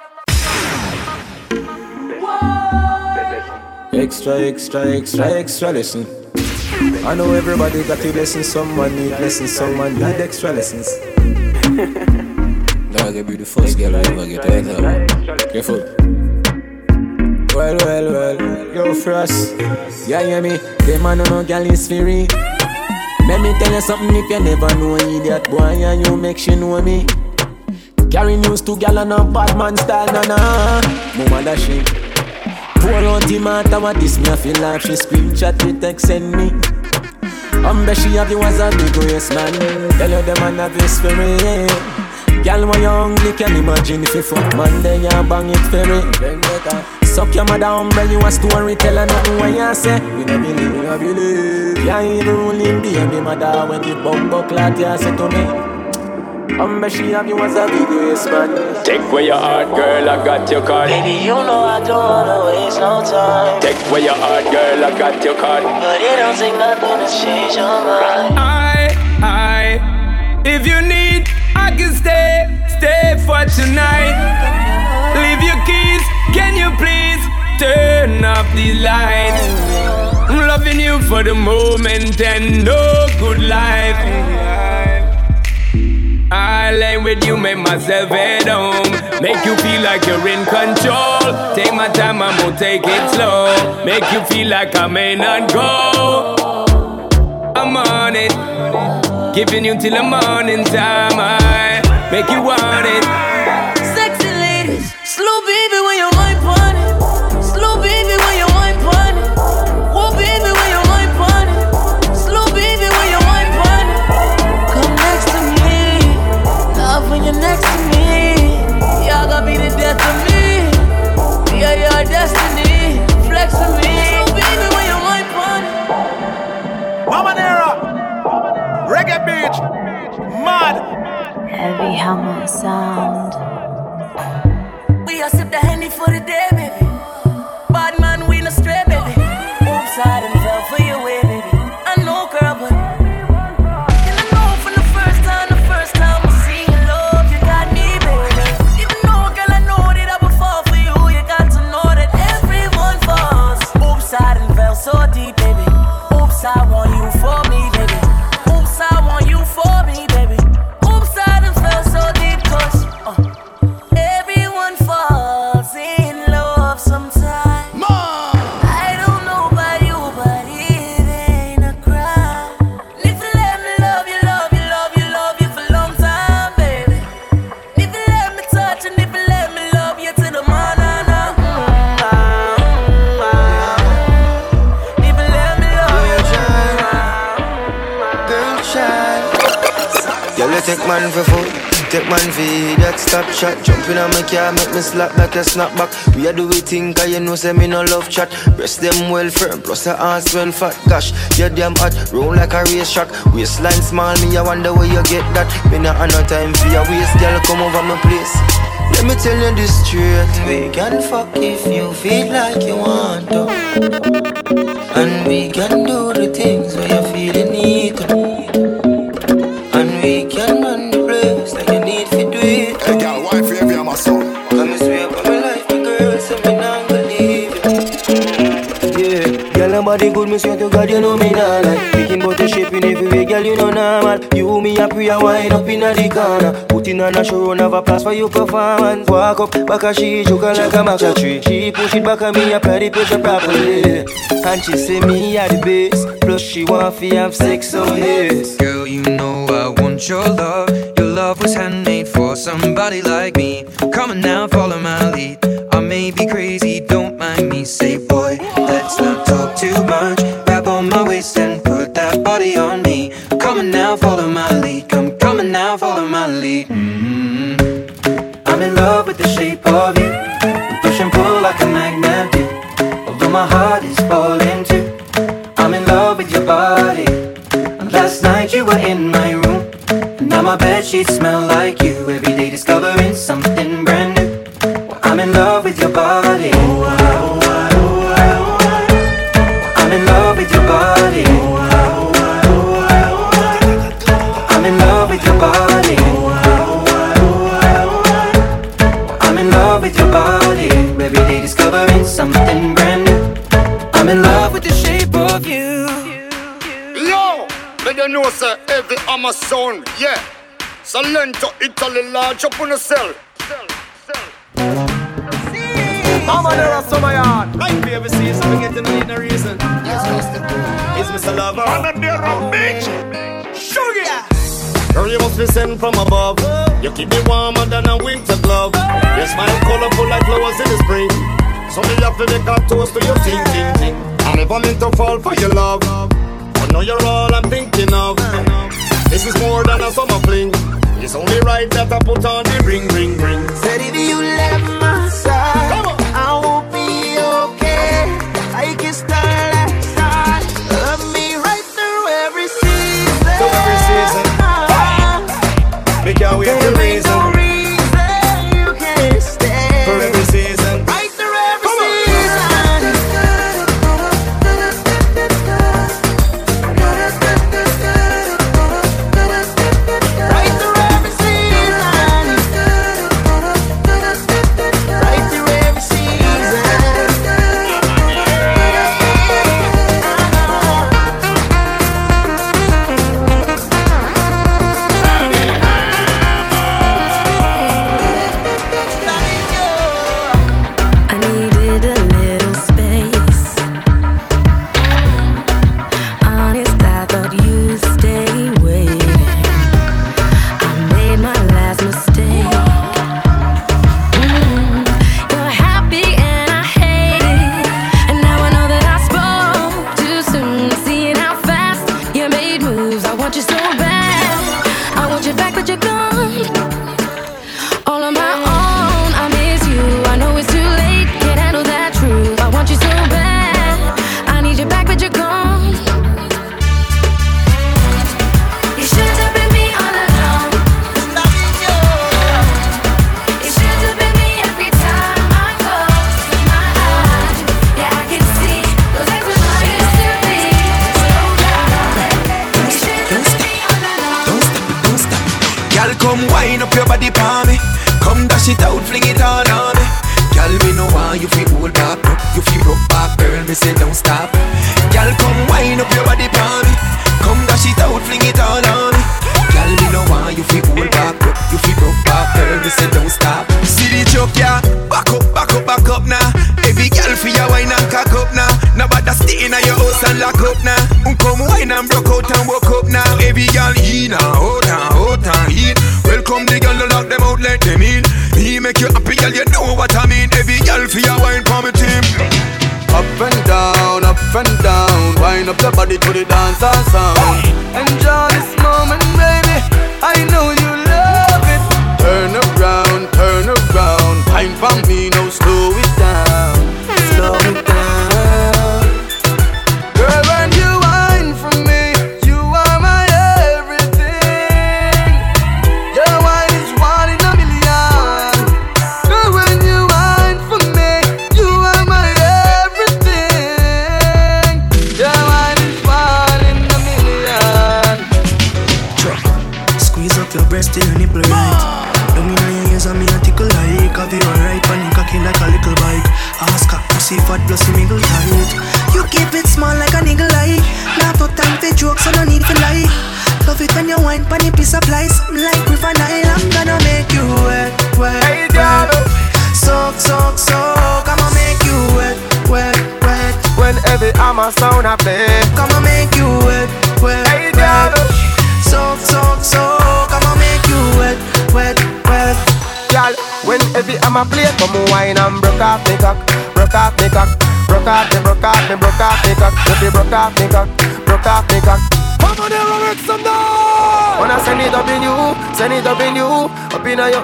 Extra lesson. I know everybody got a lesson, someone need lessons, someone need extra lessons. Dog, you be the first girl I ever get out. Careful. Well, yo Frost. Yeah, hear me? Them man no girl is free. Let me tell you something if you never know idiot boy and you make she know me. Carry news to gal and a bad man style, na. Mama da she. Pour out the matter what this me I feel like she screenshot the text send me. Bet she have you as a big waist man. Tell you the man have this for me. Girl when you hungry can imagine if you fuck man then you bang it for me. Suck your mother umbrella you a story tell her nothing when you say. We no believe. You ain't even ruling baby mother when the bumbo clock you say to me. Bet she have you as a big waist man. Take away your heart, girl, I got your card. Baby, you know I don't wanna waste no time. Take away your heart, girl, I got your card. But it don't take nothing to change your mind. If you need, I can stay for tonight. Leave your keys, can you please turn off the lights? I'm loving you for the moment and no good life. I lay with you, make myself at home. Make you feel like you're in control. Take my time, I'm gonna take it slow. Make you feel like I may not go. I'm on it, giving you till the morning time. I make you want it. Sexy ladies, slow baby when you mind pon it. Slow baby when you mind pon it. Oh baby when you mind pon it. Slow baby when you mind pon it. Come next to me, love when you're next to me. Y'all gonna be the death of me. Yeah, your destiny, flex with me. Slow baby when you mind pon it. Mama Nera, reggae beach, mad. Heavy hammer sound. We a sip the Henny for the day, baby. Bad man, we no stray, baby. Oops, I done fell for your way, baby. I know, girl, but and I know from the first time I see your love, you got me, baby. Even though, girl, I know that I would fall for you. You got to know that everyone falls. Oops, I done fell so deep, baby. Oops, I want you for me, baby. Oops, I want you for me, baby. Oops, I done fell so deep, 'cause everyone falls in love sometimes. I don't know about you, but it ain't a crime. If you let me love you, love you, love you, love you for a long time, baby. If you let me touch and if you let me love you to the morning, if you let me love you, Girl, child. Girl, you take man for food. Take man for that stop shot. Jumping on my car, make me slap like a snapback. We a do we think, cause you know say me no love chat. Breast them well firm, plus the ass well fat. Gosh, you damn hot, roll like a race track. Waistline small, me I wonder where you get that. Me not have no time for your waist, girl, come over my place. Let me tell you this straight. We can fuck if you feel like you want to. And we can do the things where you feel you need to. And we can run the place like you need to do it. Hey, girl, why favor you, my son? Come swear for my life, my girl, so me not believe it. Yeah, girl, nobody good, me swear to God, you know me not like. Picking about the shape in every way, girl, you know normal. You, me, a pray, a wind up in the corner. Putting on a show, have a place for your performance. Walk up, back a she, choking like a maca tree. She push it back at me, apply the pressure properly. And she say me at the base. Plus she want to have sex on this. Girl, you know I want your love. Your love was handmade for somebody like me. Come on now, follow my lead. I may be crazy, don't mind me. Say boy, let's not talk too much. Grab on my waist and put that body on me. Come on now, follow my lead. Come on now, follow my lead. I'm in love with the shape of you. Push and pull like a magnet do. Although my heart is falling too. I'm in love sheets smell like you. Every day discovering something brand new. Well, I'm in love with your body. I'm in love with your body. I'm in love with your body. I'm in love with your body. Every day discovering something brand new. I'm in love with the shape of you. Yo, let you know sir, every Amazon, yeah. Salento, Italy, large up on the cell. Mama, there are some of y'all. Right, baby, see, so we get to need no reason. Is Mr. Lover? I'm a dear bitch. Sugar. Girl, you must be sent from above. You keep me warmer than a winter glove. Your smile colorful like flowers in the spring. So me have to make a toast to your ting, ting, ting. I never meant to fall for your love, but now you're all I'm thinking of. This is more than a summer fling. It's only right that I put on the ring, ring, ring. Said if you left my side, I won't be okay. I can start like that. Love me right through every season. Through every season. Make your way to reason. No reason you can't stay. For every season. Right through every season. Send it up in you, up in your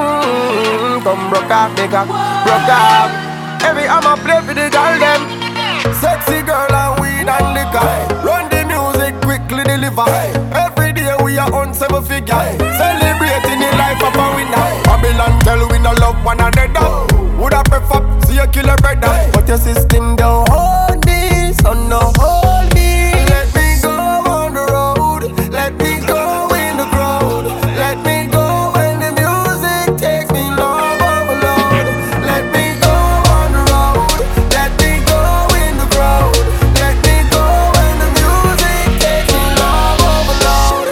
come broke up, make up, broke up. Every I'ma play for the girl them. Sexy girl and weed and liquor. Run the music quickly deliver. Every day we are on 7 figure. Celebrate love one another. Would I prefer see you kill a brother? But your system don't hold me, so no hold me. Let me go on the road. Let me go in the crowd. Let me go when the music takes me long overload. Let me go on the road. Let me go in the crowd. Let me go when the music takes me long overload.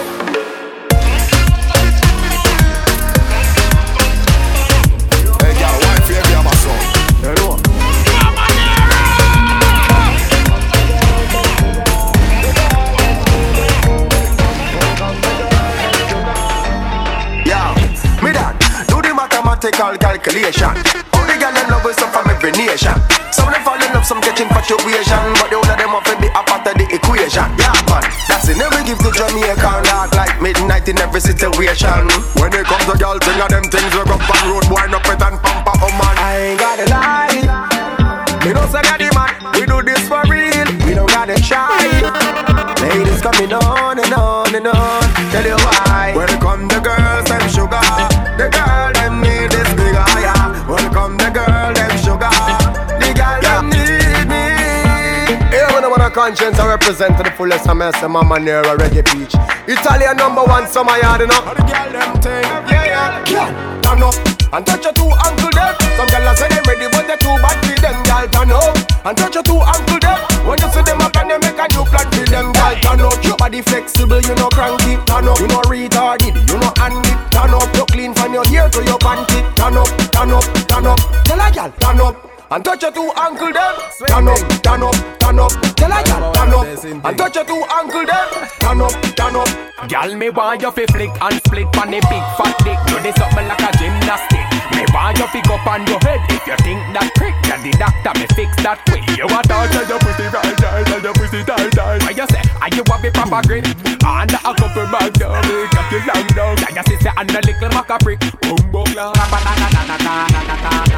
Hey, girl, why fear me, my son? Hello. Mathematical calculation. All the girls them love us from every nation. Some of them fall in love, some catch infatuation, but the older them want to be a part of the equation. Yeah, man, that's it. Never give to Jamaican dark like midnight in every situation. When it comes to girls, think of them things we up on road, wind up it and pump up, oh man. I ain't got a lie. We don't say that man. We do this for real. We don't gotta shy. Ladies coming on and on and on. Tell you why. When it come to girls, them sugar. The girl them need this big higher. Welcome the girl them sugar. The girl them need me. Here when I'm on a conscience I represent to the fullest. I'm a Mama Nera Reggae Peach. Italian #1 summer yard enough. The girl them thing, yeah. Turn up and touch your two ankle them. Some girls say them ready but they too bad for them. Girl turn up and touch your two ankle them. When you see them up and they make a new plan for them. Girl turn up, your body flexible, you know cranky. Turn up, you know retarded, you know handy. Turn up, you clean from your hair to your panty. Turn up, turn up, turn up. Tell a girl, turn up and touch your two ankle them. Turn up, turn up, turn up. Tell a girl, turn up and touch your two ankle them. Turn up, turn up. Girl, me want you fi flick and split on the big fat dick. Do this something like a gymnastic. Me want you pick up on your head. If you think that prick, then the doctor me fix that quick. You want to tell your pussy right, tell your pussy tight. Why you say, are you want be proper grit? Under a couple bag down, me got you long down. Like your sister and a little maca prick. Boom boom la, rabanana,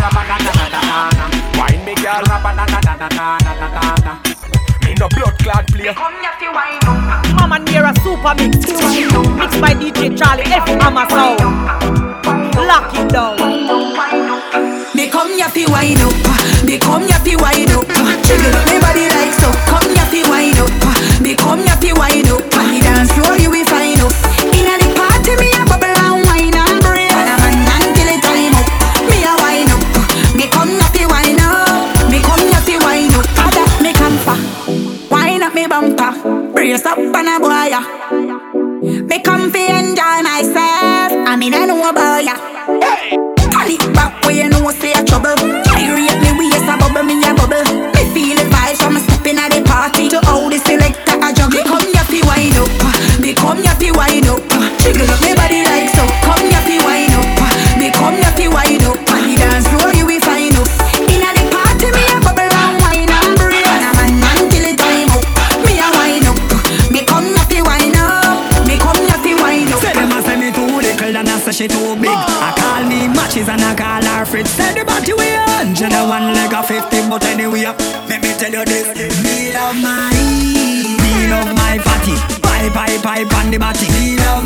wine me girl, rabanana. Me no blood clot play. Mama Nera Super Mix, mixed by DJ Charlie F. Mama Sound. Lock it down. Me come ya fi wine up, me come ya fi wine up. Jiggle up me body like so. Come ya fi wine up, me come ya fi wine up. Me dance floor you will find up. Inna the party me a bubble and wine and break. And a man until the time up, me a wine up. Me come ya fi wine up, me come ya fi wine up. Ada me come fa, wine up me bumper, brace up and a boy ya. Me come fi enjoy myself. I mean I know about ya. Turn it back where you know say a trouble. I rate me waist a bubble, me a bubble. Me feel the vibes from stepping at the party to how the selector a juggle. Me come ya fi wind up, me come ya fi wind up. Jiggle up me body like so. Come ya fi wind up, me come ya fi wind up. On the dance floor you will find up. Inna the party me a bubble and wine and break. And a man until the time up, me a wind up. Me come ya fi wind up, me come ya fi wind up. Say them a say me too little and I say she too big. I call me matches and I call her Fritz. Say the body we 100 and one leg of 50, but anyway, let me tell you this. Me love my fatty. Pipe on the body. Me love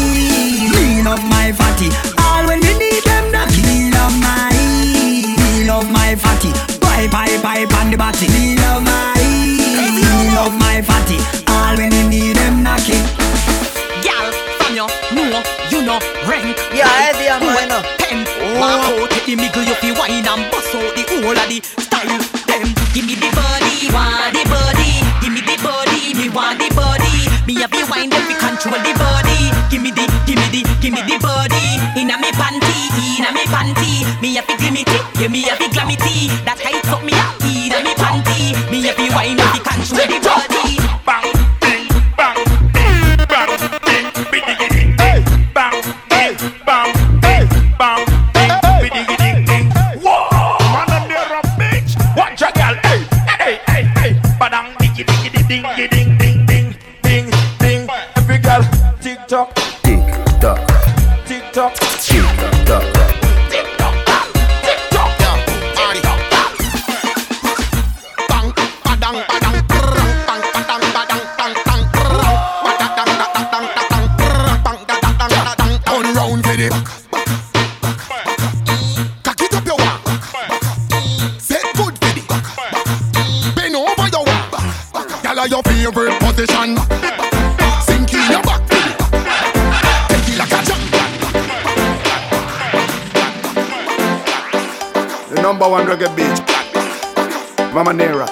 my fatty. All when you need them knocky. Me love my fatty. Pipe on the body. Me love my fatty. All when you need them knocky. Gal, from you know, rank. Yeah, heavy and man. Pen, walk out, take the middle, you fi wine and bust out the whole of the style. Them, give me the body, want the body. Give me the body, me want the body. Me have the wine, let me control the body. Give me the body. Inna me panty, me have the glimity, yeah me have the glamity. That height up me up, inna me panty. Me have the wine, let me control the body. Bang, bang, bang, bang, bang, bang, bang, bang, bang, bang, bang. Whoa, man, they're a bitch. Watch a girl, hey, badang, diggy, ding, ding, ding, ding, ding, ding. Every girl, tick tock, tick tock, tick tock, tick tock, tick tock, tick tock, position. Sink in your back. Take it like a jump. The number one reggae beat, Mama Nera.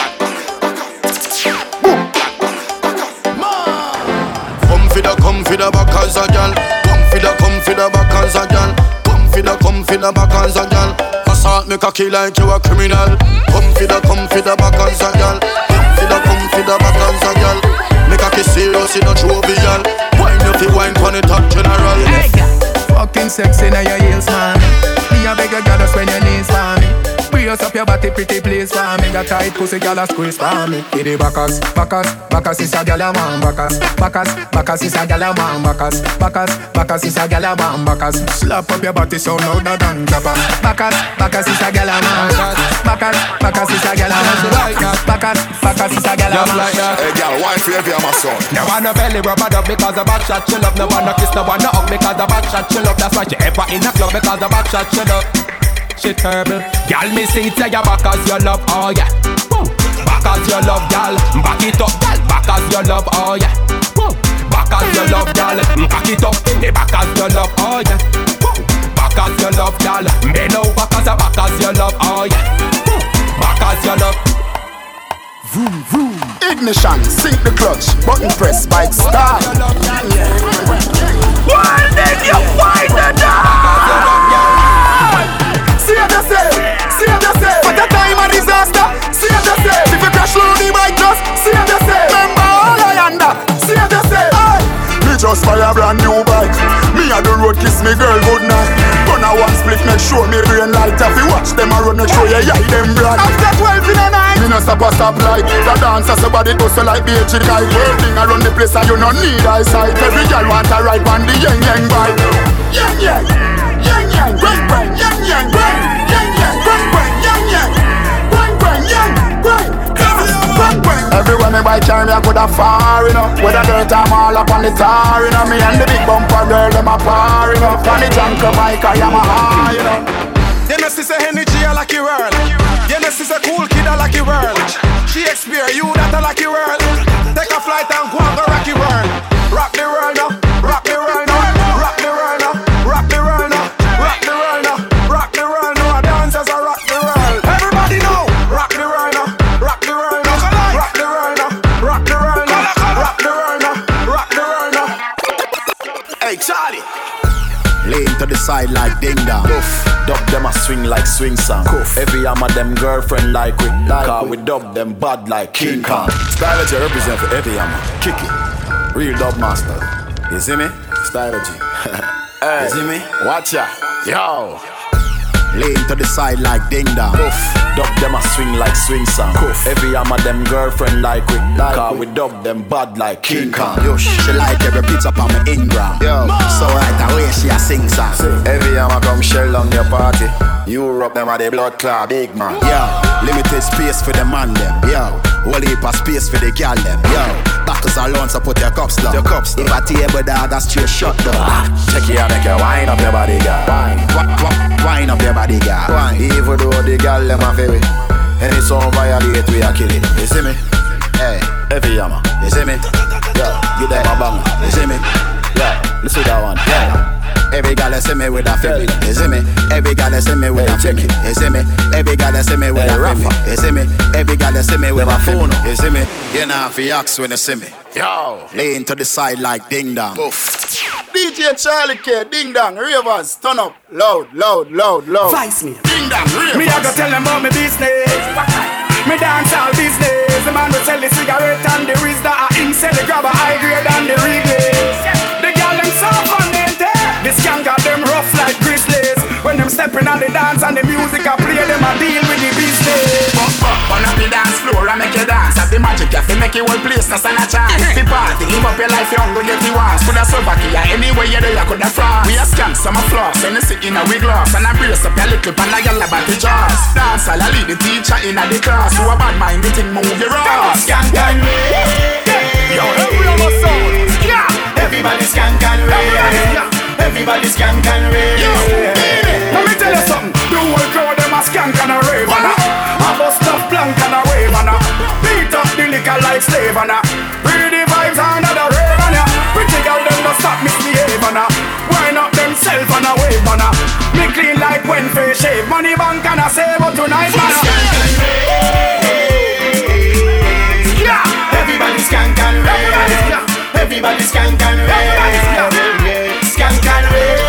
Come for the back as a gal. Come for the back as a gal. Come for the back as a gal. Assault me cocky like you a criminal. Come for the back as a gal. Come for the back as a gal. Me cocky serious in a jovial. Wine if you wine pon the top general. Fucking sexy now your heels, man. Me a beg you, girl, just when your knees for me. Brace up your body, pretty please for me. Got tight pussy, girl, a squeeze for me. Get the backers, backers is a girl a man. Backers is a girl a man. Backers is a girl a man. Backers, slap up your body so louder than clapper. Backers is a girl a man. Backers is a girl a man. Backers is a girl a man. Hey, girl, why favor my son? No one no belly rubber dub because the back shot she love. No one no kiss, no one no hug because the back shot she love. That's why she ever in the club because the back shot she love. She terrible. Girl, me see it say ya back as your love, oh yeah. Woo. Back as your love, girl. Back it up, girl. Back as your love, oh yeah. Woo. Back as your love, girl. Back it up, back as your love, oh yeah. Woo. Back as your love, girl. Bend over back as your love, oh yeah. Woo. Back as your love. Vroom, vroom. Ignition, sink the clutch. Button press, bike start. Why did you find the dog? Save yourself. At a time of disaster, save yourself. If you crash low the bike, just save yourself. Remember all I under, save yourself. Aye. Me just buy a brand new bike. Me a the road kiss me girl good night. Run a one split, make sure me brain light. If you watch them a run, make sure you eye them bright. After 12 in the night, me no stop light. The dancer somebody does so like BH guy. Working around the place and you no need eyesight. Every girl want a ride on the yang bike. Yang, bang, bang, yang, bang. Everywhere me buy car, me a coulda far, you know. With a dirt I'm all up on the tar, you know. Me and the big bumper girl, them a par, you know. On the junk bike, I am a high, you know. You know, she's a energy, I like your world. You know, she's a cool kid, I like your world. She experience you, that I like your world. Take a flight and go and go rock your world. Rock the world now, rock the world now, rock the world now, rock the world now, rock the world now, rock the world now. Dancers are rock the world. Everybody know, rock the world now, rock the world now, rock the world now, rock the world now, rock the world now, rock the world now. Hey Charlie. Lean to the side like ding dong. Dub them a swing like swing song. Every arm of them girlfriend like we. Cause we dub them bad like King Kong. Stylogy represent for every arm. Kick it. Real dub master. You see me? Stylogy. Hey, you see me? Watch ya. Yo. Lean to the side like ding dong. Dub them a swing like swing song. Every arm of them girlfriend like we. Cause we dub them bad like King Kong. Yo, she like every pizza on my Ingram. Yo, so right away she a sing song. Every arm a come shell on your party. Europe them a the blood clot big man. Yo, limited space for the man them. Yo, whole heap of space for the gal them. Yo, backers alone so put your cups down. If a table dog a straight shut down. Check it out, make you wind up your body, girl. Wine up your body, girl. Even though the girl them a feel it. Any song violate, we a kill it. You see me? Hey, every yama. You see me? Yeah, give them a bang. You see me? Yeah, listen to that one. Yeah. Every girl see me with a feeling. You see me? Every girl see me with a feeling. You see me? Every girl see me with a feeling. You see me? Every girl see me with a phone. You see me? You know if you ask when you see me. Yo, lean to the side like ding dong. DJ Charlie K, ding dong, ravers, turn up, loud. Vice me. Ding dong, ravers. Me a go tell them about me business. Me dance all business. The man will sell the cigarette and the Riz that him sell the grabber high grade and the reglaze. The girl them soft and they tear. The skank got them rough like grizzlies. When them stepping on the dance and the music I play, them a deal with the business. Up on the dance floor and make you dance. Have the magic, you make you whole place, no stand a chance. The party, live up your life young, go get the ones. Coulda Slovakia, anywhere you there, you coulda France. We a scam, some a floss, and you sit in a wig gloss. And I brace up your little pan, like a about the jaws. Dance, I'll lead the teacher in a the class. Who a bad mind, the thing move your ass. Skank and rave. Yo, everyone was sound. Everybody skank and rave. Everybody skank and rave. Let me tell you something. The whole crowd them a skank and a rave and a bust up plank and a wave and a beat up the liquor like slave and a man. Me clean like when fish shave. Money bank and I save but tonight, man. Everybody skank and rave. Everybody skank and rave. Skank and rave.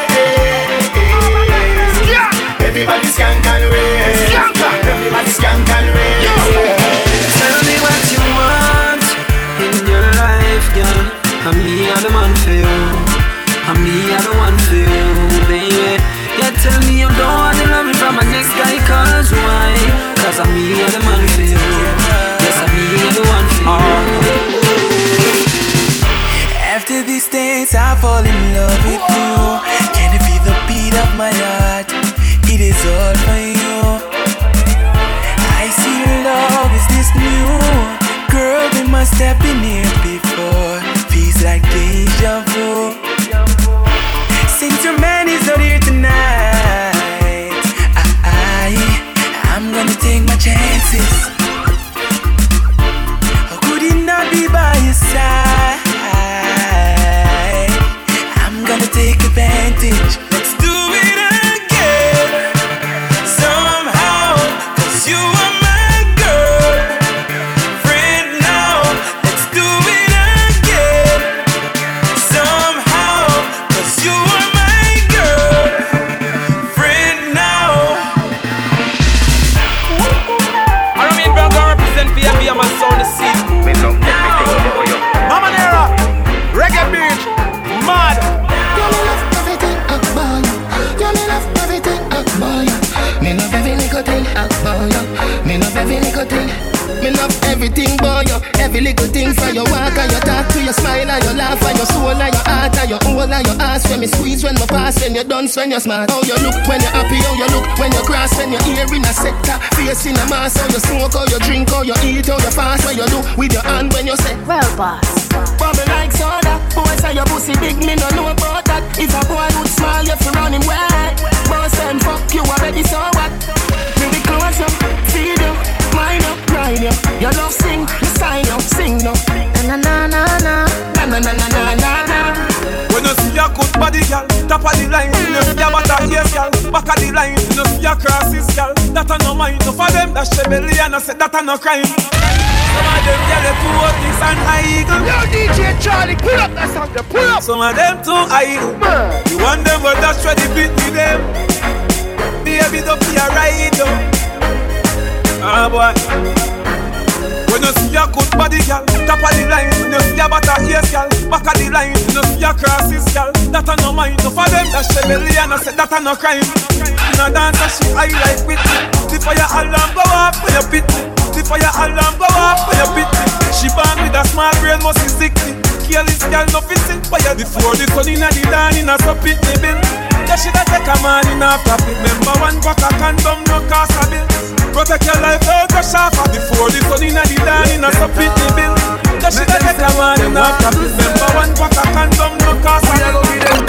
Everybody skank and rave. Everybody skank and rave. Tell me what you want in your life, girl. I'm me, I'm the man for you. I'm me, I'm the one for you, baby. Yeah, tell me you don't want to love me from my next guy, cause why? Cause I'm me, I'm the man for you. Yes, I'm me, I'm the one for you. After these days, I fall in love with you. Can you feel the beat of my heart? It is all for you. I see love is this new. Girl, we must have been here before. Feels like deja vu. Since your man is not here tonight, I'm gonna take my chances. How could he not be by your side? I'm gonna take advantage. Let's do it again. Somehow, 'cause you are my girl. Friend now, let's do it again. Somehow, 'cause you are my girl. Friend now. I remain proud to represent for you, my sound is seat. Mama Nera, reggae beat, mad. You me love everything about you. You me love everything about you. Me love every little thing about you. Me love every little thing. Me love everything about you. Every little thing from your walk and your talk to your smile and your laugh and your soul and your heart and your whole and your ass. When me squeeze, when me pass, when you dance, when you're smart. How you look when you're happy, how you look when you cross, when you're here in a sector, face in a mass. How you smoke, how you drink, how you eat, how you fast. What you do with your hand when you say, well, boss. Bubble like soda. Boy say your pussy big, me no know about that. If a boy would smile, you fi run him wet. Boss and fuck you already, so what? Me be close up, feed you, mind up, ride you. Your love sing, you sign you, sing no. Na na na na na na na na na na na. When you see a good body, girl, top of the line. When you see a butter ears, girl, back of the line. When you see a crosses, girl, that a no mind. No for them, that's rebellion, and I said that a no crime. Some of them get it too hot, this and eagle. Yo, DJ Charlie, pull up that song, pull up. Some of them too idle. You want them, but that's where the beat with them. Baby, don't be a ride, ah boy. When you see a good body, girl, top of the line. When you see a butter ears, girl, back of the line. When you see a crosses, girl, that a no mind. No for them, that's rebellion, I said that a no crime. In a dance, she high like with me. The fire alarm go off when you pit me. The fire alarm go off when you pit me. She born with a small brain, must be sickly. Careless girl, no fitting fire. Before the sun in the dawn, in a so pit me bin. Yeah, she da take a man in a profit. Remember one pack of condom, no cost a bill. Protect your life, don't crash off. Before the sun in the dawn, in a so pit me bill. Yeah, she da take a man in a profit. Remember one pack of condom, no cost a bill.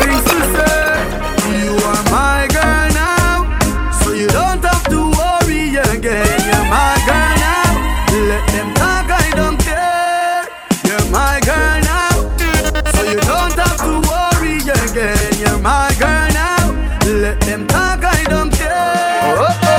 You are my girl now, so you don't have to worry again. You're my girl now, let them talk, I don't care. You're my girl now, so you don't have to worry again. You're my girl now, let them talk, I don't care. Oh, oh,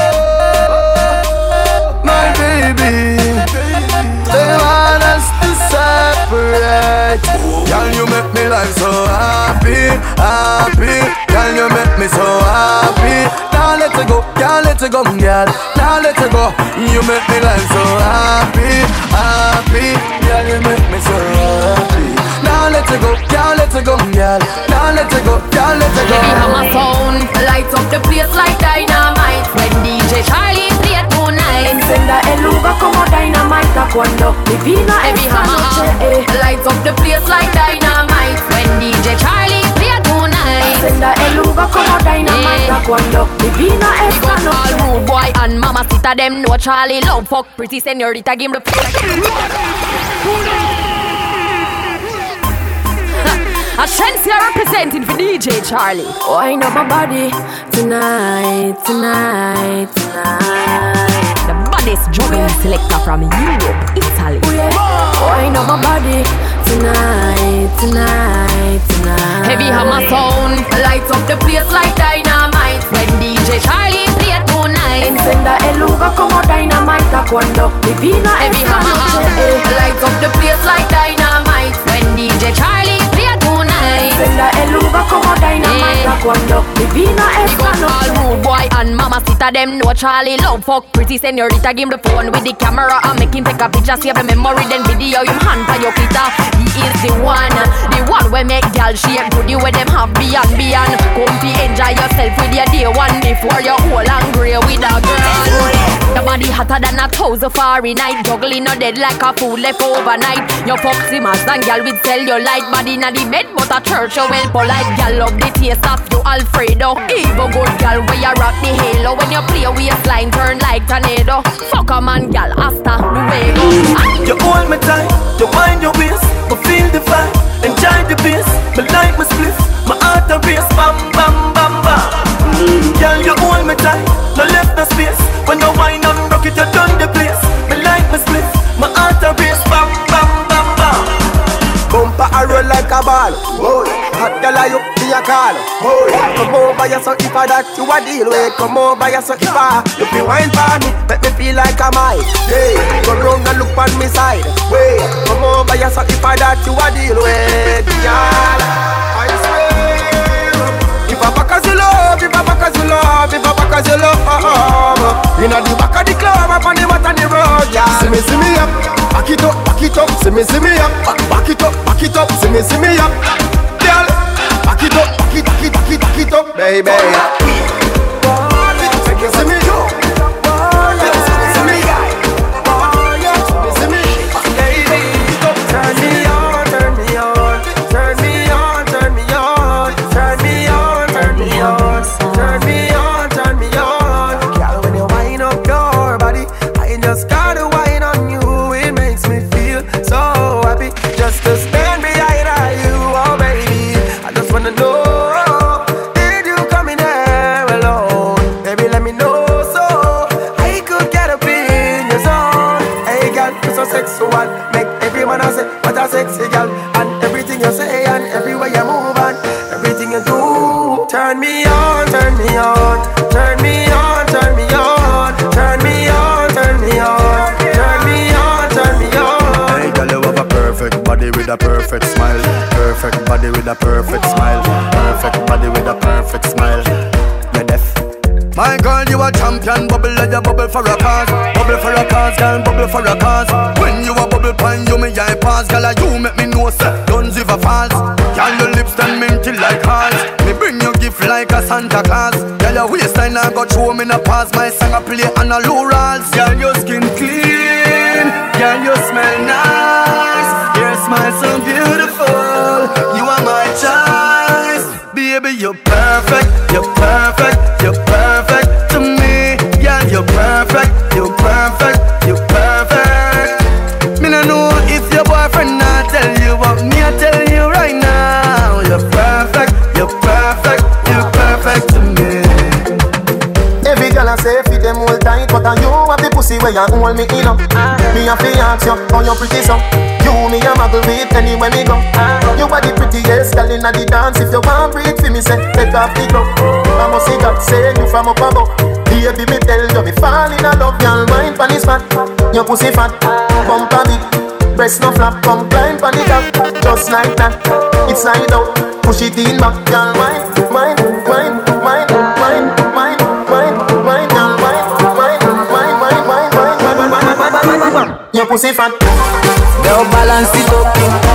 oh, my baby, they want us to separate. Girl, you make me life so happy, happy. Girl, you make me so happy. Now let it go, girl, let it go, girl. Now let it go. You make me life so happy, happy. Girl, you make me so happy. Now let it go, girl, let it go, girl. Now let it go, girl, let it go. Baby, have my phone, lights up the place like dynamite. When DJ Charlie play tonight, encenda el lugar como dynamite. Cuando divina esta noche, lights up the place like dynamite. When DJ Charlie play tonight, encenda el lugar como dynamite. Cuando divina esta noche. All rude boy and mamacita them know Charlie love fuck pretty señorita give the A Shensia representing for DJ Charlie. Oh, I know my body tonight, tonight, tonight. The baddest drumming selector from Europe, Italy. Oh, yeah. Oh, Wind up my body tonight, tonight, tonight. Heavy hammer sound, light up the place like dynamite. When DJ Charlie play tonight, encenda el lugar como dynamite. Cuando divina heavy hammer, light up the place like dynamite. When DJ Charlie play tonight, encenda el lugar como dynamite. Cuando divina esta noche. Rude boy and mamacita them know Charlie love fuck pretty señorita. Give him the phone with the camera and make him take a picture. Save the memory then video him hand for your kita. He is the one we make gal shake good. You with them have beyond. Come to enjoy yourself with your day one before you whole and grey with a girl. Your body hotter than 1,000 Fahrenheit. Juggling no dead like a fool left overnight. Your foxy mask and gal with cellulite. Body na the bed but a church you well polite. Gal love the taste of you Alfredo. Even good gal where you rock the halo. When you play waistline turn like tornado. Fuck a man gal hasta luego. You hold me tight, you wind your waist. I feel the vibe, enjoy the bass. Me like my spliff, my heart a race. Bam bam bam bam. Girl you hold me tight, no left no space. When you wind and rock it you done the place. Me like my spliff, my heart a race. Bam bam bam bam. Bumper a roll like a ball. Boy, hot girl I up me a call. Boy, come over here so if I that you a deal with. Come over here so if I you feel wine for me, make me feel like I'm high. Hey, go round and look on me side. Wait, come over here so if I that you a deal with. Girl, I swear. If I back as you love, if I back as you love, if I back as you love. Inna the back of the club, up on the mat on the road, yeah. See me up, back it up, see me up, back it up, see me up, girl. Back it up, baby. Take you see me do. See me, baby. Turn me on, turn me on, turn me on, turn me on, turn me on, turn me on, turn me on, turn me on. Girl, when you wind up your body, I just gotta whine on you. It makes me feel so happy just to stand behind you, oh baby. I just wanna know, did you come in there alone? Baby, let me know so I could get up in your zone. Hey girl, you're so sexual, make everyone else say what a sexy girl. And everything you say and everywhere you move and everything you do. Turn me on, turn me on, turn me on, turn me on, turn me on, turn me on, turn me on, turn me on. Hey girl, you have a perfect body with a perfect smile. Perfect body with a perfect smile. Perfect body with a perfect smile. You're deaf. My girl, you a champion. Bubble like a bubble for a cause. Bubble for a cause, girl, bubble for a cause. When you a bubble pine, you me eye pass. Girl, you make me know, sir, don't give a false. Girl, your lips turn minty like hearts. Me bring you gift like a Santa Claus. Girl, your waistline I got show me na pass. My song I play on a low rolls. Girl, your skin clean. Girl, you smell nice. Your smile so beautiful. You are my choice. Baby, you're perfect. You're perfect. You're perfect to me. Girl, you're perfect. You're perfect. You're perfect. Me no know if your boyfriend not tell you, but me I tell you right now. You're perfect. You're perfect. You're perfect to me. Every girl I say fit them all tight, but you have the pussy where you hold me in up. Me a fi ask you how you pretty so. You me a muggle with anywhere me go. You are the prettiest girl inna the dance. If you want breathe for me, say take off the glove. I must see God say you from up above. Baby, me tell you me fall in love. Girl, wine pon the spot. Your pussy fat, bump a bit, breast no flap. Come climb pon the top, just like that. It's slide out, push it in back. Girl, wine, wine, wine, wine, wine, wine, wine, wine, girl, wine, wine, wine, wine, wine, wine, wine. Your pussy fat. Girl, balance it up.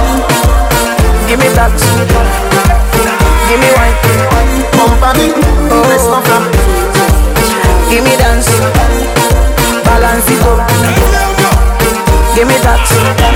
Give me that. Give me wine. Bump a bit, breast no flap. Give me dance. Balance it up. Give me that.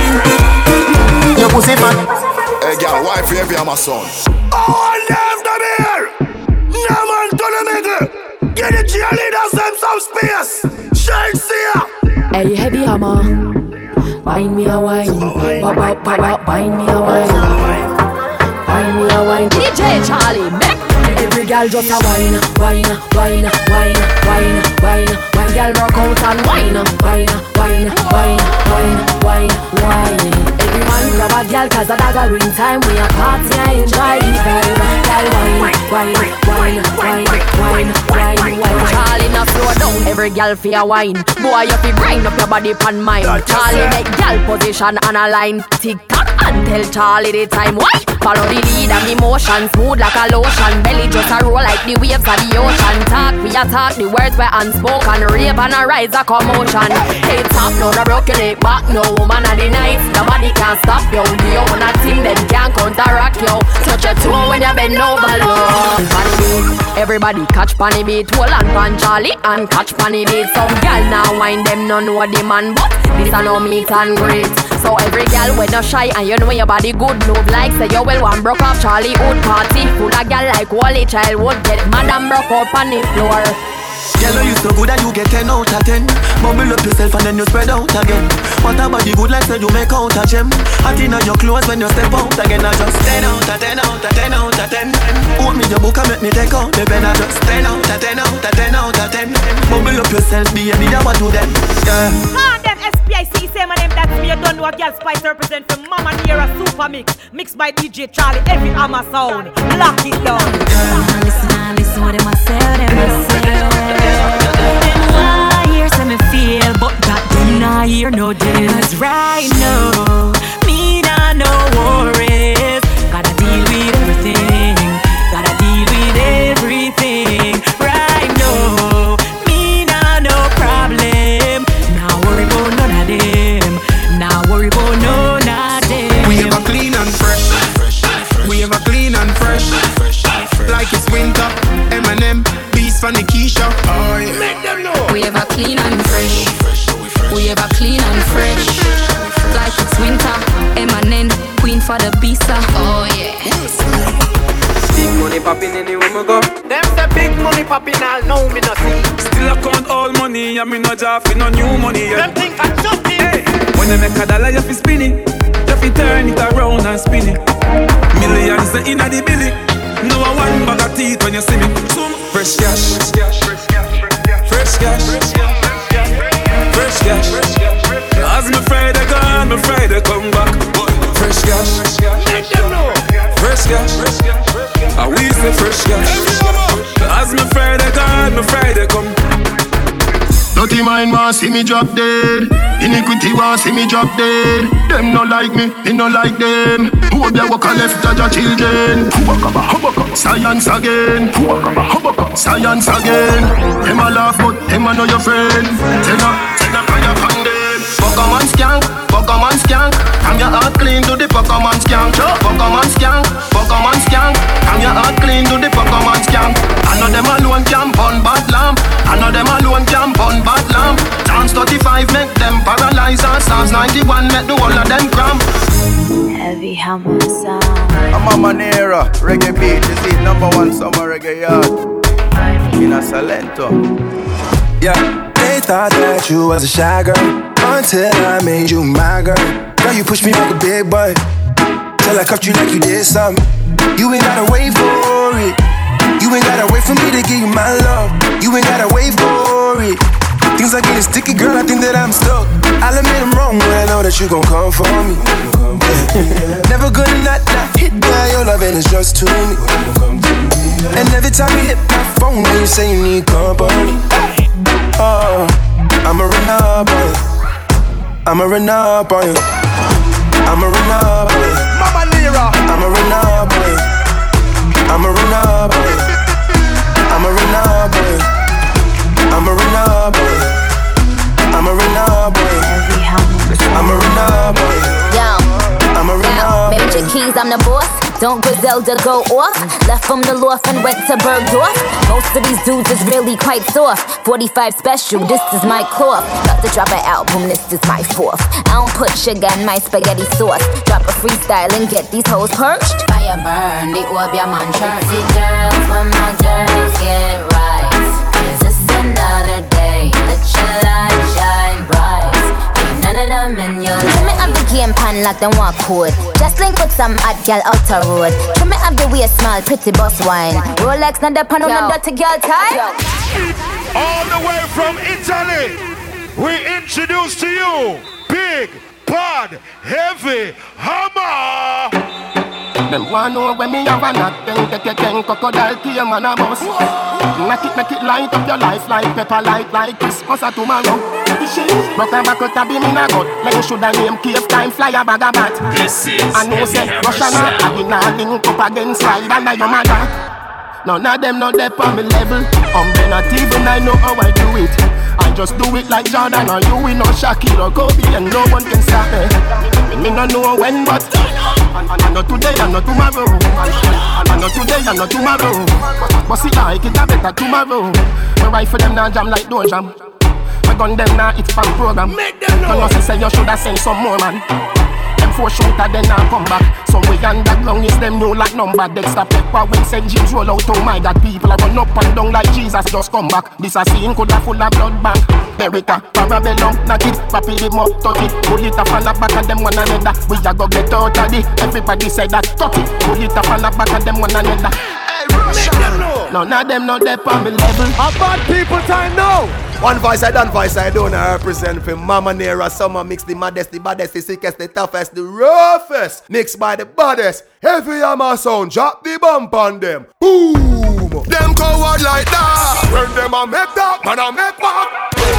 Your pussy fat. Hey girl, why for every my son? All left them here. No man to the middle. Get the cheerleaders them some space. Shake see. Hey, heavy hammer. Wine me a wine. Wine me a wine. Wine me a wine. DJ Charlie, make every girl just a wine, wine, wine, wine, wine, wine, wine. bad girl broke out and wine, wine, wine, wine, wine, wine, wine. Everyone grab a girl 'cause a daggering time. We a party and enjoy the vibe. Girl wine, wine, wine, wine, wine, wine, wine. Charlie not slow down, every girl fi a wine. Boy you fi grind up your body pan mine. Charlie make girl position on a line. Tick tock and tell Charlie the time. Why? Follow the lead and emotion, smooth like a lotion. Belly just a roll like the waves of the ocean. Talk, we a talk, the words were unspoken. Rave and a rise a commotion. Hey top, no the broken it back, no woman of the night. Nobody can stop you. The own a team, them can't counteract you. Touch your toe when you bend over low. Panny beat, everybody catch panny beat. Hold on pan Charlie and catch panny beat. Some girl now wine them no know the man, but this a no meet and greet. So every girl when you shy and you know your body good, move like say you will one broke off Charlie Hood party. Full of girl like Wally childhood, get madam broke up on the floor. Girl, you so good that you get 10 out of 10. Bubble up yourself and then you spread out again. What a body good like say you make out a gem. Hot in your clothes when you step out again. I just 10 out of 10 out of 10 out of 10. Hold me your book and make me take out the pen. I just 10 out of 10 out of 10 out of 10. Bubble up yourself, baby, I want to them. Yeah. Come them SPIC, say my name, that's me. You don't know a girl Spice represent from Mama Nera Super Mix. Mixed by DJ Charlie, every Hammer sound. Lock it down. Listen what they must say, Them why hear say me feel, but that them not hear no deal. 'Cause right now, me not no worries. Gotta deal with everything. Gotta deal with everything. Right now, me not no problem. Now worry about none of them. Now worry about none of them. We have a clean and fresh. We have a clean and fresh. Like it's winter. M&M, beast from the Keisha. Oh yeah. Make them know. We have a clean and fresh. We have a clean and fresh. Like it's winter. M&M, queen for the pizza. Oh yeah. Big money popping anywhere we go. Them the big money popping all now me no see. Still I count all money and me no job for no new money. Them think I just hey. When you make a dollar you fi spin it. You fi turn it around and spin it. Millions inna the billy. No one bag of teeth when you see me. Fresh cash, fresh cash, fresh cash. As me Friday gone, me Friday come back. Fresh cash, fresh cash. And we say fresh cash. As me Friday gone, me Friday come. Dirty mind want see me drop dead. Iniquity want see me drop dead. Them no like me no like them. Who they walk a left of your children? Science again. Science again. Them a laugh but them a know your friend. Tell a fire upon them. Pokemon skank. Come your heart clean to the Pokemon skank. Pokemon skank. Come your heart clean to the Pokemon skank. I know them alone can burn bad lamp. I know them alone can burn bad lamp. Chance 35 make them paralyze. Psalms 91 make the whole of them cramp. Heavy Hammer sound. I'm Mama Nera, reggae beat. This is #1 summer reggae yard in a Salento. Yeah, they thought that you was a shy girl until I made you my girl. Girl, you pushed me like a big boy till I cuffed you like you did something. You ain't gotta wait for it. You ain't gotta wait for me to give you my love. You ain't gotta wait for it. Things are getting sticky, girl, I think that I'm stuck. I'll admit I'm wrong when I know that you gon' come for me. Yeah. Never gonna not hit by your loving is just to me. And every time you hit my phone, you say you need company. Oh, I'ma run up on you. I'ma run up on you. I'ma run up on you. Mama Nera. I'ma run up on you. I'ma run up on you. I'ma run up on you. I'ma run up on you. I'ma run up on you. I'ma run up on you. I'ma run up on you. Major keys, I'm the boss. Don't Griselda go off. Left from the loft and went to Bergdorf. Most of these dudes is really quite soft. 45 special, this is my cloth. About to drop an album, this is my fourth. I don't put sugar in my spaghetti sauce. Drop a freestyle and get these hoes perched. Fire burn, the orb your man church. See girls, when my girls get right. Is this another day? Let your light shine bright. Ain't none of them in your life. Trim me up the game pan like them walk code. Just link with some hot girl out the road. Trim me up the waist small, pretty boss wine. Rolex not the pan on the dirty girl tie. All the way from Italy. we introduce to you Big Bad Heavy Hammer. Them want know when me have a knock, then crocodile tear man a bus. Make it light up your life like pepper light like Christmas or tomorrow. Rock and back out a beam in a gut, like you shoulda name cave time fly a bag of bat. I know say Russian I be not link up against slide and your mother. None of them not there on me level. Not even I know how I do it. I just do it like Jordan or you, we know Shaquille or Kobe, and no one can stop me. Me no know when, but I know today, I know tomorrow. I know today, I know tomorrow. But see like it a better tomorrow. My rifle them now jam like door jam. My gun them now it's fan program. No say you shoulda send some more man. Them 4 shooter then now come back. Somewhere underground is them new like number. Dexter Pepper when St. James roll out. Oh my God, people are run up and down like Jesus just come back. This a scene coulda full of blood bank. America, Parabellum, knock it, papi the more, touch it. Pull it up and the back of them one another. We a go get out of it. Everybody say that, touch it. Pull it up and the back of them one another. None of them not there on me level. A bad people time now. One voice I done, voice I don't. I represent for Mama Nera. Summer mix the maddest, the baddest, the sickest, the toughest, the roughest. Mixed by the baddest. Heavy hammer sound. Drop the bump on them. Boom. Them coward like that. When them a make that, man a make back.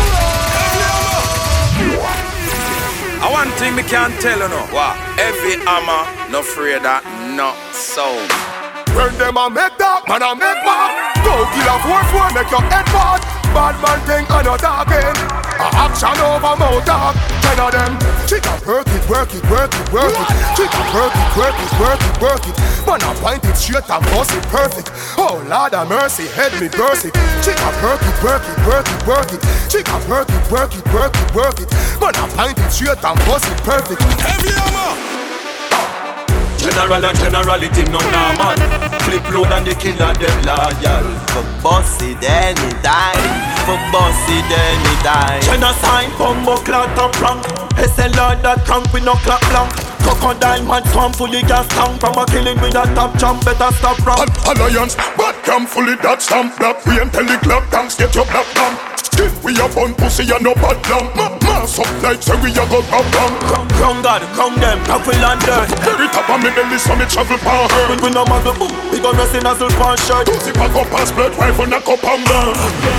One thing me can't tell you no. What? Heavy hammer, no afraid that, no sound. When them a make that, man a make back. Go kill a 4-4, make your head bad. Bad man thing and not talking. A action over mouth talk. 10 of them. Chica work it, work it, work it, work it. Chica work it, work it, work it, work it. Man a point it straight and bust it perfect. Oh Lord of mercy, head me burst it. Chica work it, work it, work it, work it. Chica work it, work it, work it, work it. Man a point it straight and bust it perfect. Heavy hammer. General and generality no normal. Flip load and the killer them loyal. For boss it anytime. For boss it anytime. Genocide, bumbo clout up rank. SLR that crank with no clap blank. Crocodile man swam fully gas tank. From a killing with a top jump, better stop round. Alliance, bad cam fully that stamp. Black we and tell the club tanks get your black bump. Still we a bun pussy and no bad lamp. Mass up like say we a go rob bang. Crown God, crown them, tackle and dirt. Very top of me belly so me travel power hurt. We no matter boom, we gon' rest in a silk pan shirt. Pussy pack up pass blood rifle knock up and down.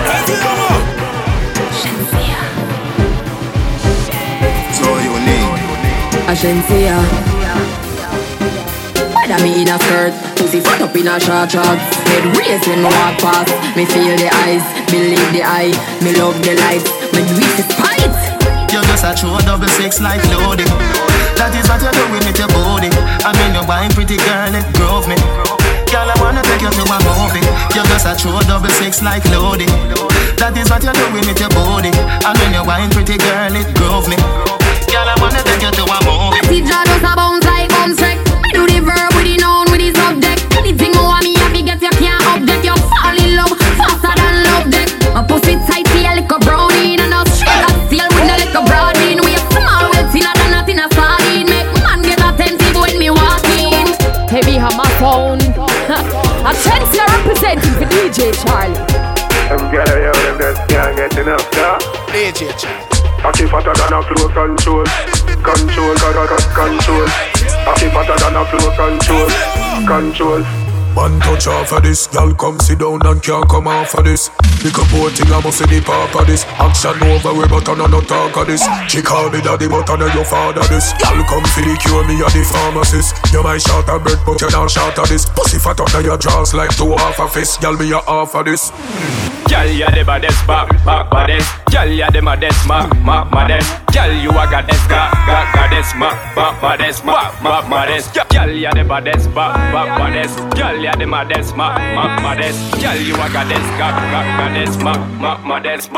So unique. Ashensia. Whether me in a skirt, pussy fat up in a short shorts. Head raised when me walk past. Me feel the eyes, believe the eye. Me love the lights, me do it despite. You're just a true 6 like loading. That is what you're doing with your body. I mean you're buying pretty girl, it drove me. Girl, I wanna take you to a movie. You're just a true 6 like loading. That is what you're doing with your body. I mean you're buying pretty girl, it drove me. Girl, I wanna take you to a movie. I see John just a bounce like bounce wreck. Me do the verb with the noun with the subject. Anything you want me have to get you can't object. You fall in love faster than love deck. My pussy tight to your little brownie. And a straight up steel with the little broadine. We a small well thinner than a thinner sardine. Make man get attentive when me walk in. Heavy hammer sound. A chance you're representing for DJ Charlie. I'm gonna hear them just can't get enough, yeah? DJ Charlie. I keep fatter than a close control. Control, control. I keep fatter than a close control. Control. One touch off of this, y'all come sit down and can't come off of this. Pick up one thing, I must see the park of this. Action over way, but I no talk of this. She call me daddy, but I know your father this. Y'all come for the cure, me a the pharmacist. You might shout a bird, but you not shout of this. Pussy fat up now your jaws like 2 half a fist. Y'all me a half of this. Y'all ya the baddest, baddest. Y'all ya the maddest, maddest. Y'all you a goddess, goddess, baddest, maddest. Y'all ya the baddest, baddest. Y'all ya the maddest, maddest. Y'all you a goddess, goddess, maddest,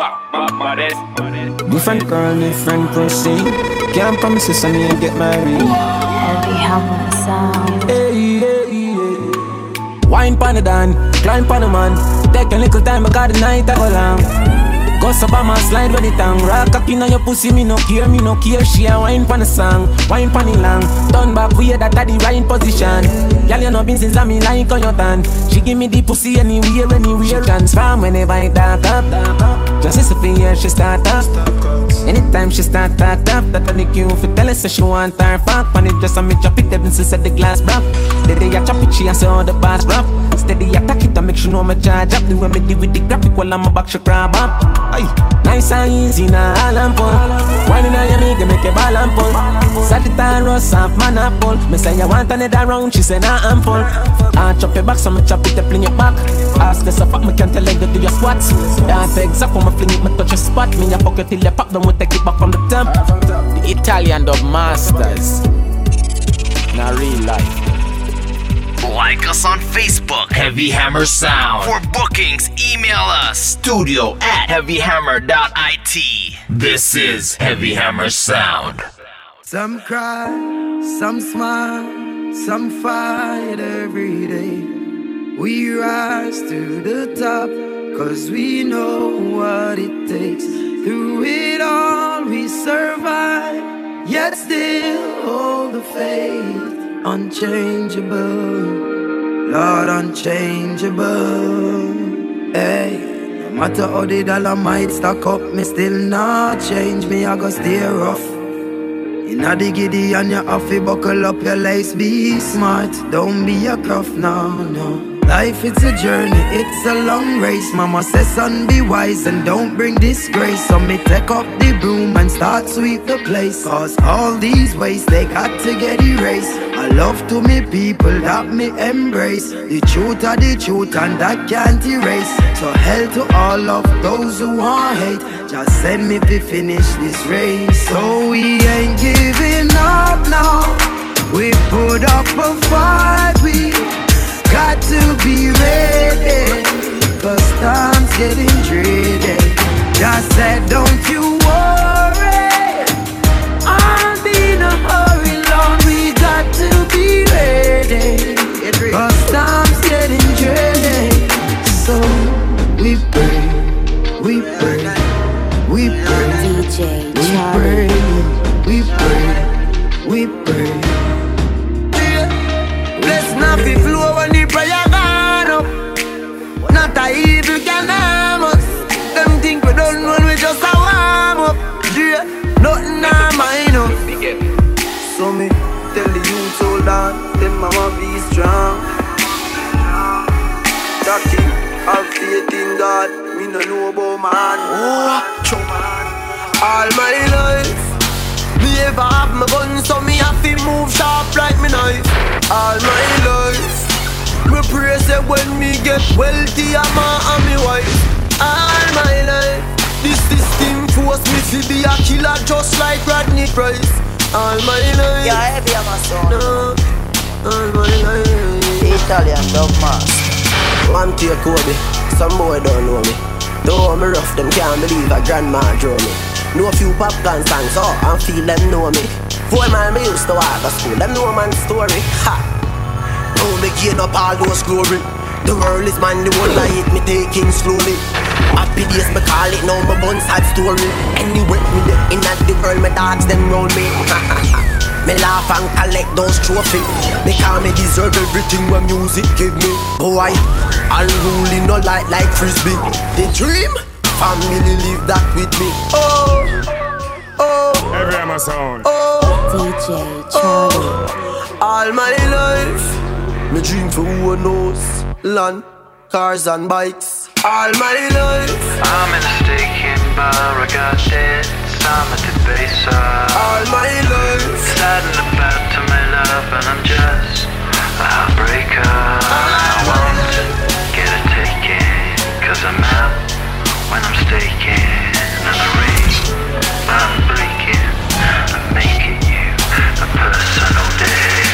maddest. Different girl, different pussy. Can't promise you son you get married. Heavy hammer sound. Hey, hey, hey. Wine pan the dan, climb pan the man. Take a little time, I got the night I go long. Go up on my slide with the tongue. Rock up in on your pussy, me no care. She a wine pan the song, wine pan the long. Turn back, we that at the right position. Y'all you know been since I me like on your tan. She give me the pussy anywhere. She transform whenever I dark up. Just as a for years she start up. Anytime she start up, that I make you for tell her say she want her fuck. When it just a me drop it, then she said the glass broke. The day I chop it, she and say all the bars rough. Steady attack it, I make sure no me charge up. The way me deal with the graphic while I'm a back she grab up. Aye. Nice and easy now, all and pull. Wine in your nigga make a ball and pull. Sagittarius roast off man apple. Me say you want another round, she say nah I'm full. I chop your back, so me chop it, I fling it back. Ask this a fuck, me can't tell like to do your squats. Can't exact when me fling it, me touch your spot. Me a fuck it till you pop, then we take it back from the temp. The Italian dub masters. Now real life. Like us on Facebook, Heavy Hammer Sound. For bookings, email us, studio@heavyhammer.it. This is Heavy Hammer Sound. Some cry, some smile, some fight every day. We rise to the top, cause we know what it takes. Through it all we survive, yet still hold the faith. Unchangeable, Lord unchangeable. Hey, no matter how the dollar might stack up, me still not change. Me I go stay rough. Inna the giddy and you have to buckle up your lace. Be smart, don't be a cuff, no. Life it's a journey, it's a long race. Mama says son be wise and don't bring disgrace. So me take up the broom and start sweep the place. Cause all these ways they got to get erased. I love to me people that me embrace. The truth are the truth and that can't erase. So hell to all of those who want hate. Just send me to finish this race. So we ain't giving up now. We put up a fight, we got to be ready, cause time's getting dreary. Just said don't you worry, I'll be in a hurry, Lord. We got to be ready, cause time's getting dreary. So we pray, we pray, we pray, DJ we pray, we pray. Bless not be flow when the prayer gone up. Not a evil can harm us. Them think we don't know we just a warm up. Yeah, nothing on mine up. So me tell the youth hold on, tell mama be strong. Jackie, have faith in God. Me no know about man. All my life me ever have my gun, so me have to move sharp like me knife. All my life me pray say when me get wealthy I'm and me wife. All my life this system force me to be a killer just like Rodney Price. All my life, yeah, Heavy Hammer Sound. No, all my life. The Italian dub master. One take Kobe, some boy don't know me. Though me rough, them can't believe a grandma draw me. Know a few popcorn songs, oh, and feel them know me. 4 man me used to walk to school, them know man's story. Ha! Now me gain up all those glory. The world is mine, the one I hate me taking slowly. Happy days me call it, now my bun sad story. Anyway, me in at the world, my dogs them round me. Me laugh and collect those trophies. They call me deserve everything when music give me. Boy, unruly no like frisbee. The dream, family live that with me. Oh, Heavy Hammer Sound. DJ Charlie. All my life, me dream for who knows. Land, cars and bikes. All my life, I'm in a stinking bar, I got debts, I'm at the base. All my life, saddened about to my love, and I'm just a heartbreaker. I want to get a ticket, cause I'm out when I'm staking. And the ring, I'm breaking, I'm making you a personal day.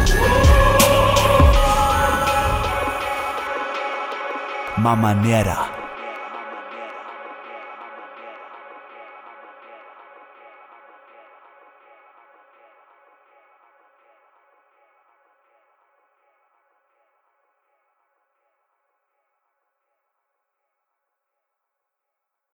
Mamanera.